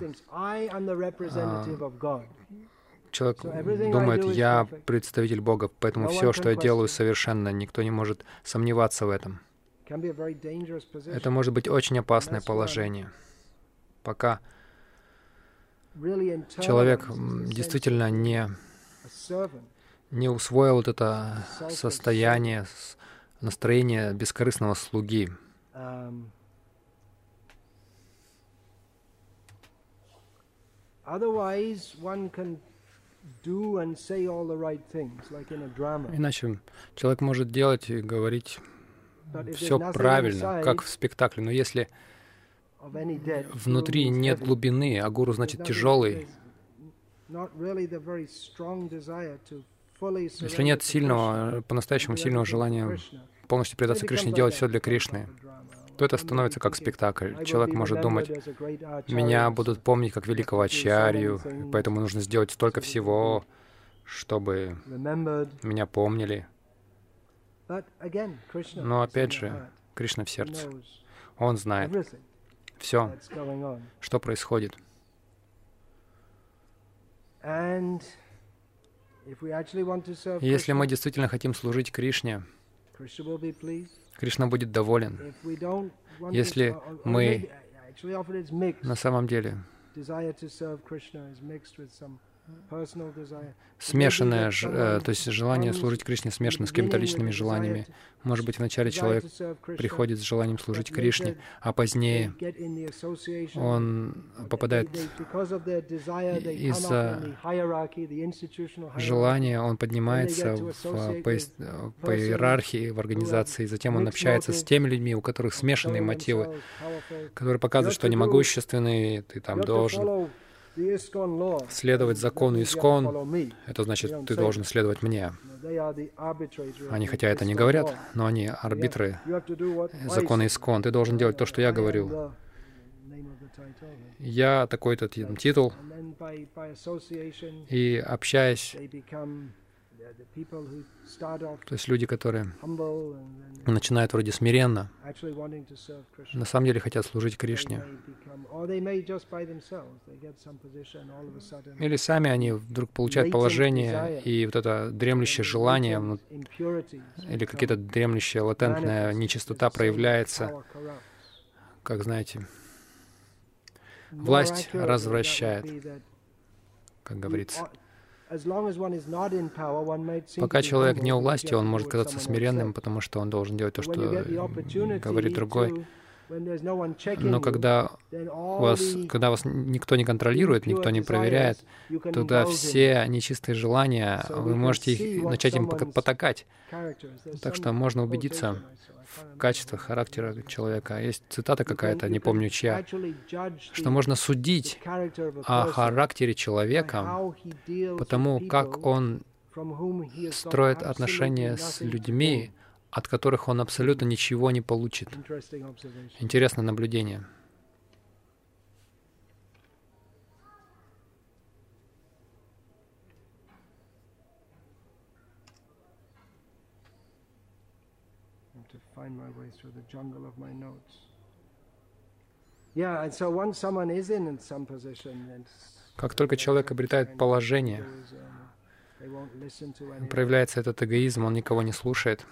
Человек думает, я представитель Бога, поэтому все, что я делаю, совершенно. Никто не может сомневаться в этом. Это может быть очень опасное положение. Пока человек действительно не, не усвоил вот это состояние, настроение бескорыстного слуги. Иначе человек может делать и говорить все правильно, как в спектакле, но если внутри нет глубины, а гуру значит тяжелый, если нет сильного, по-настоящему сильного желания полностью предаться Кришне, делать все для Кришны, то это становится как спектакль. Человек может думать, меня будут помнить как великого ачарью, поэтому нужно сделать столько всего, чтобы меня помнили. Но опять же, Кришна в сердце. Он знает все, что происходит. Если мы действительно хотим служить Кришне, Кришна будет доволен. Если мы на самом деле смешанное, э, то есть желание служить Кришне смешано с какими-то личными желаниями. Может быть, вначале человек приходит с желанием служить Кришне, а позднее он попадает из-за желания, он поднимается в, по, по иерархии в организации, затем он общается с теми людьми, у которых смешанные мотивы, которые показывают, что они могущественные, ты там должен следовать закону Искон, это значит, ты должен следовать мне. Они хотя это не говорят, но они арбитры закона Искон. Ты должен делать то, что я говорю. Я такой-то титул, и общаясь, то есть люди, которые начинают вроде смиренно, на самом деле хотят служить Кришне. Или сами они вдруг получают положение, и вот это дремлющее желание, или какие-то дремлющая латентная нечистота проявляется, как знаете, власть развращает, как говорится. Пока человек не у власти, он может казаться смиренным, потому что он должен делать то, что говорит другой. Но когда вас, когда вас никто не контролирует, никто не проверяет, тогда все нечистые желания, вы можете их, начать им потакать. Так что можно убедиться в качествах характера человека. Есть цитата какая-то, не помню чья, что можно судить о характере человека по тому, как он строит отношения с людьми, от которых он абсолютно ничего не получит. Интересное наблюдение. Как только человек обретает положение, проявляется этот эгоизм, он никого не слушает.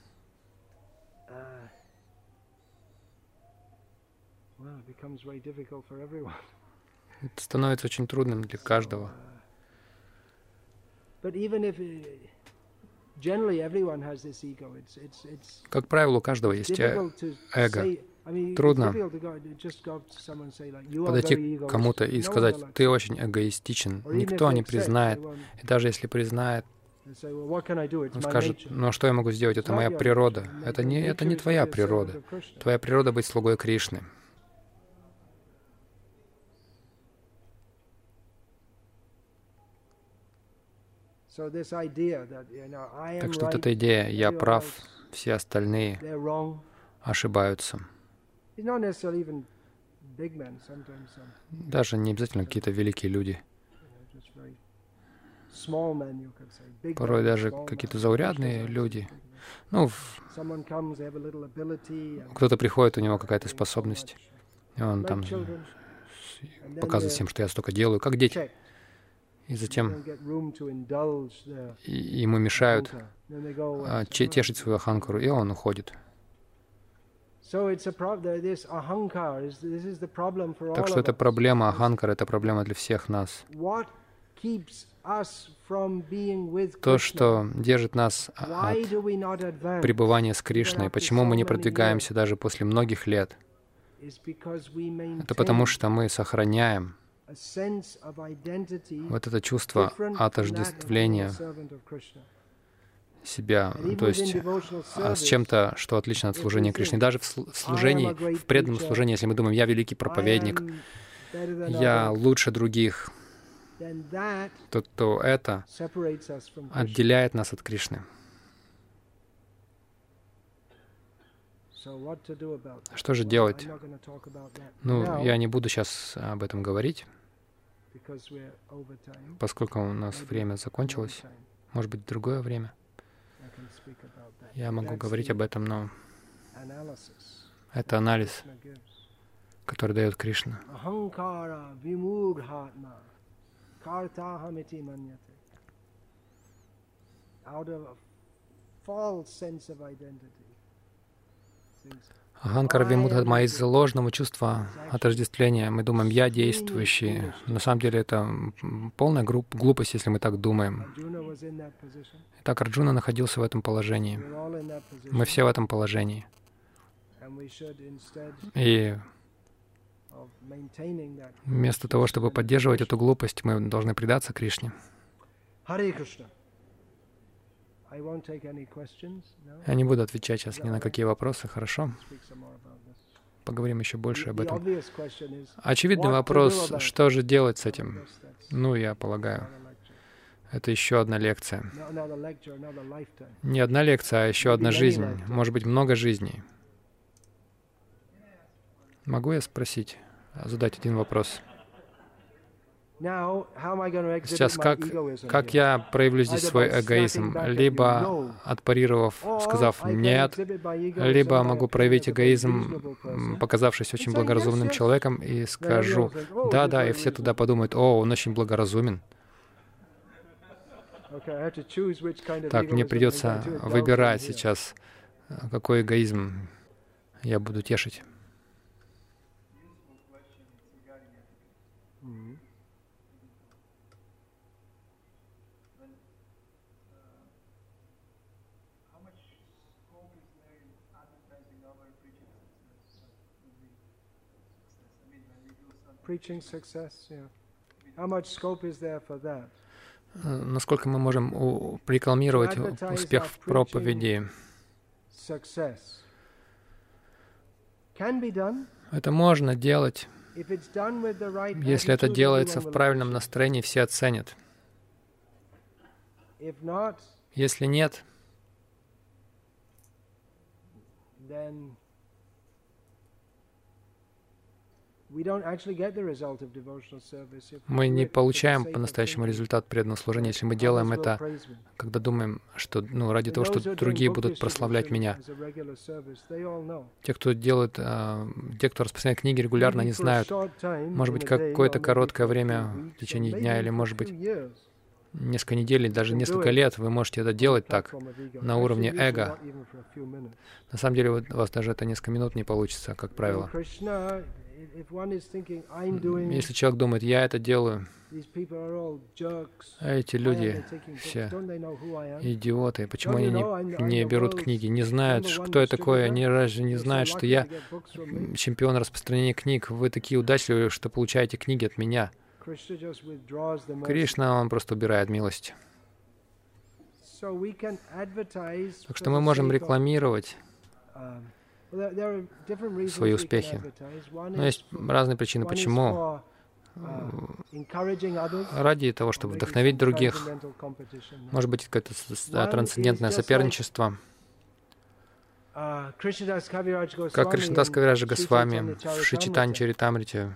Это становится очень трудным для каждого. Как правило, у каждого есть эго. Трудно подойти к кому-то и сказать, ты очень эгоистичен. Никто не признает. И даже если признает, он скажет, ну а что я могу сделать? Это моя природа. Это не, это не твоя природа. Твоя природа — быть слугой Кришны. Так что вот эта идея «я прав все остальные ошибаются. Даже не обязательно какие-то великие люди. Порой даже какие-то заурядные люди. Ну, кто-то приходит, у него какая-то способность, и он там показывает всем, что я столько делаю, как дети. И затем ему мешают тешить свою аханкару, и он уходит. Так что это проблема аханкара, это проблема для всех нас. То, что держит нас от пребывания с Кришной, почему мы не продвигаемся даже после многих лет, это потому что мы сохраняем вот это чувство отождествления себя, то есть с чем-то, что отлично от служения Кришне. Даже в служении, в преданном служении, если мы думаем, я великий проповедник, я лучше других, то, то это отделяет нас от Кришны. Что же делать? Ну, я не буду сейчас об этом говорить, поскольку у нас время закончилось. Может быть, в другое время. Я могу говорить об этом, но это анализ, который дает Кришна. Аханкара вимудхатма из ложного чувства отождествления. Мы думаем, я действующий. На самом деле это полная глупость, если мы так думаем. Итак, Арджуна находился в этом положении. Мы все в этом положении. И вместо того, чтобы поддерживать эту глупость, мы должны предаться Кришне. Я не буду отвечать сейчас ни на какие вопросы, хорошо? Поговорим еще больше об этом. Очевидный вопрос, что же делать с этим? Ну, я полагаю, это еще одна лекция. Не одна лекция, а еще одна жизнь. Может быть, много жизней. Могу я спросить, задать один вопрос? Сейчас, как, как я проявлю здесь свой эгоизм? Либо отпарировав, сказав «нет», либо могу проявить эгоизм, показавшись очень благоразумным человеком, и скажу «да-да», и все туда подумают «о, он очень благоразумен». Так, мне придется выбирать сейчас, какой эгоизм я буду тешить. Preaching success, yeah. How much scope is there for that? Насколько мы можем рекламировать успех в проповеди? Это можно делать, если это делается в правильном настроении, все оценят. Если нет, мы не получаем по-настоящему результат преданного служения, если мы делаем это, когда думаем, что ну, ради того, что другие будут прославлять меня. Те, кто делает, те, кто распространяет книги регулярно, они знают, может быть, какое-то короткое время в течение дня, или, может быть, несколько недель, даже несколько лет вы можете это делать так, на уровне эго. На самом деле, у вас даже это несколько минут не получится, как правило. Если человек думает, я это делаю, эти люди все идиоты, почему они не, не берут книги, не знают, кто я такой, они разве не знают, что я чемпион распространения книг, вы такие удачливые, что получаете книги от меня. Кришна, он просто убирает милость. Так что мы можем рекламировать свои успехи. Но есть разные причины, почему. Ради того, чтобы вдохновить других. Может быть, какое-то трансцендентное соперничество. Как Кришнадас Кавираджа Госвами в Шри Чайтанья Чаритамрите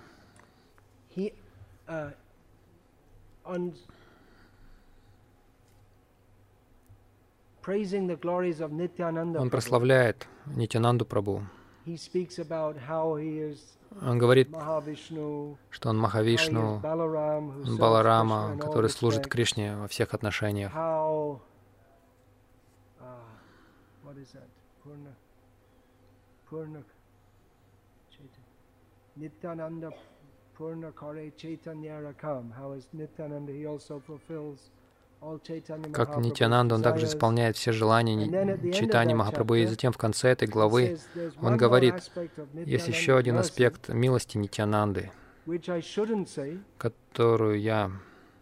он прославляет Нитьянанду Прабху. Он говорит, что он Махавишну, он Баларама, который служит Кришне во всех отношениях. Nityananda Purna Kare Chaitanya Rakam. How is Nityananda? He also fulfills all Chaitanya Mahaprabhu's Как Нитьянанда, он также исполняет все желания Чайтаньи Махапрабху. И затем в конце этой главы он говорит, есть еще один аспект милости Нитьянанды, которую я,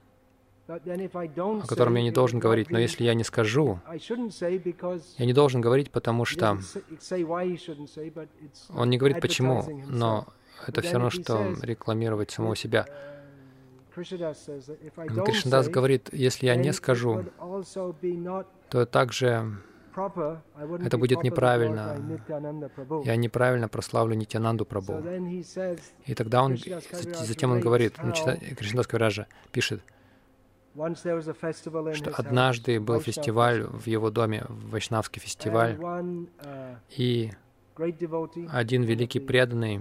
о котором я не должен говорить. Но если я не скажу, я не должен говорить, потому что он не говорит почему, но это все равно, что рекламировать самого себя. Кришнадас говорит, если я не скажу, то также это будет неправильно. Я неправильно прославлю Нитьянанду Прабху. И тогда он, затем он говорит, Кришнадас Кавираджа пишет, что однажды был фестиваль в его доме, вайшнавский фестиваль, и один великий преданный,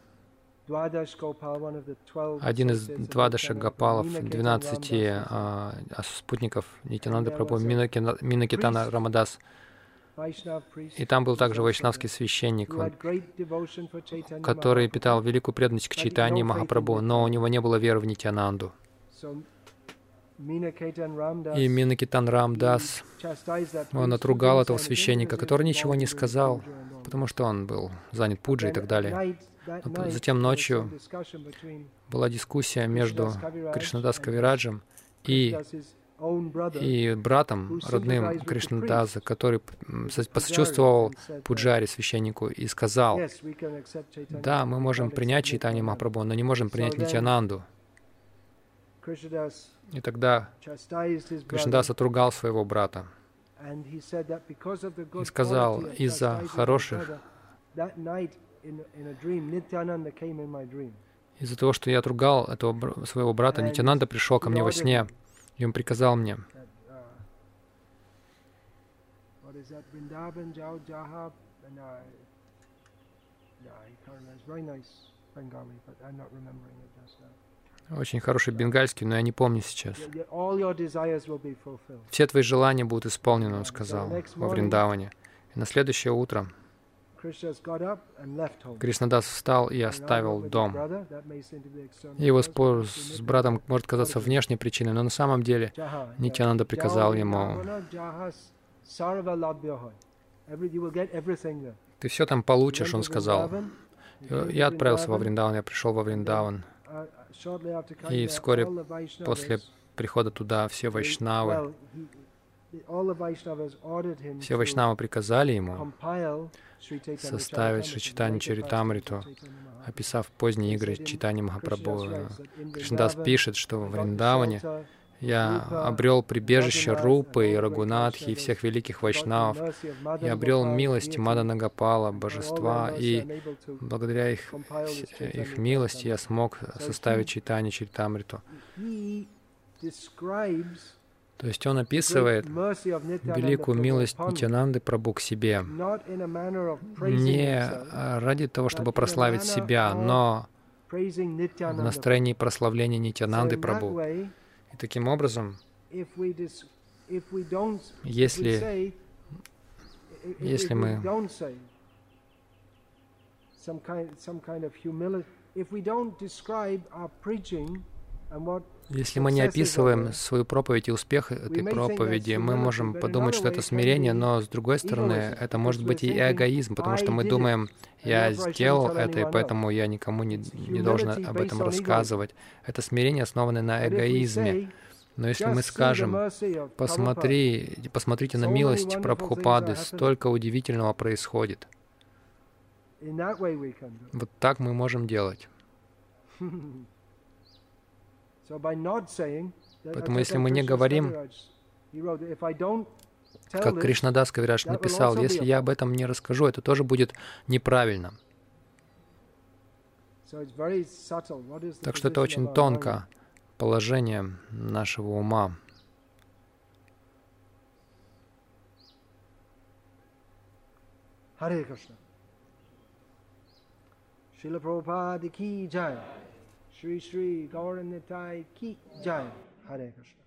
один из Двадаша Гопалов, двенадцати а, спутников Нитьянанды Прабху, Минакитана Рамадас, и там был также вайшнавский священник, он, который питал великую преданность к Чайтаньи Махапрабху, но у него не было веры в Нитьянанду. И Минакитан Рамдас, он отругал этого священника, который ничего не сказал, потому что он был занят пуджей и так далее. Но затем ночью была дискуссия между Кришнадас Кавираджем и, и братом, родным Кришнадаса, который посочувствовал пуджаре, священнику, и сказал, да, мы можем принять Чайтанья Махапрабху, но не можем принять Нитьянанду. И тогда Кришнадас отругал своего брата и сказал, из-за хороших, из-за того, что я отругал этого своего брата, Нитьянанда пришел ко мне во сне, и он приказал мне, очень хороший бенгальский, но я не помню сейчас. Все твои желания будут исполнены, он сказал, во Вриндаване. И на следующее утро Кришнадас встал и оставил дом. Его спор с братом может казаться внешней причиной, но на самом деле Нитьянанда приказал ему, ты все там получишь, он сказал. Я отправился во Вриндаван, я пришел во Вриндаван. И вскоре после прихода туда все вайшнавы, все вайшнавы приказали ему составить Шри Чайтанья Чаритамриту, описав поздние игры Чайтаньи Махапрабху. Кришнадас пишет, что в Вриндаване я обрел прибежище Рупы и Рагунатхи и всех великих вайшнавов. Я обрел милость Мадана Гопала, божества, и благодаря их, их милости я смог составить Чайтанью Чаритамриту. То есть он описывает великую милость Нитьянанды Прабху к себе не ради того, чтобы прославить себя, но в настроении прославления Нитьянанды Прабху. И таким образом, если, если мы Если мы не описываем свою проповедь и успех этой проповеди, мы можем подумать, что это смирение, но с другой стороны, это может быть и эгоизм, потому что мы думаем, я сделал это, и поэтому я никому не, не должен об этом рассказывать. Это смирение, основанное на эгоизме. Но если мы скажем, посмотри, посмотрите на милость Прабхупады, столько удивительного происходит. Вот так мы можем делать. Поэтому если мы не говорим, Как Кришнадас Кавираж написал, если я об этом не расскажу, это тоже будет неправильно. Так что это очень тонко, положение нашего ума. Харе Кришна. Шрила Прабхупада ки джай. Шри Шри Гауранитtai ки джай. Харе Кришна.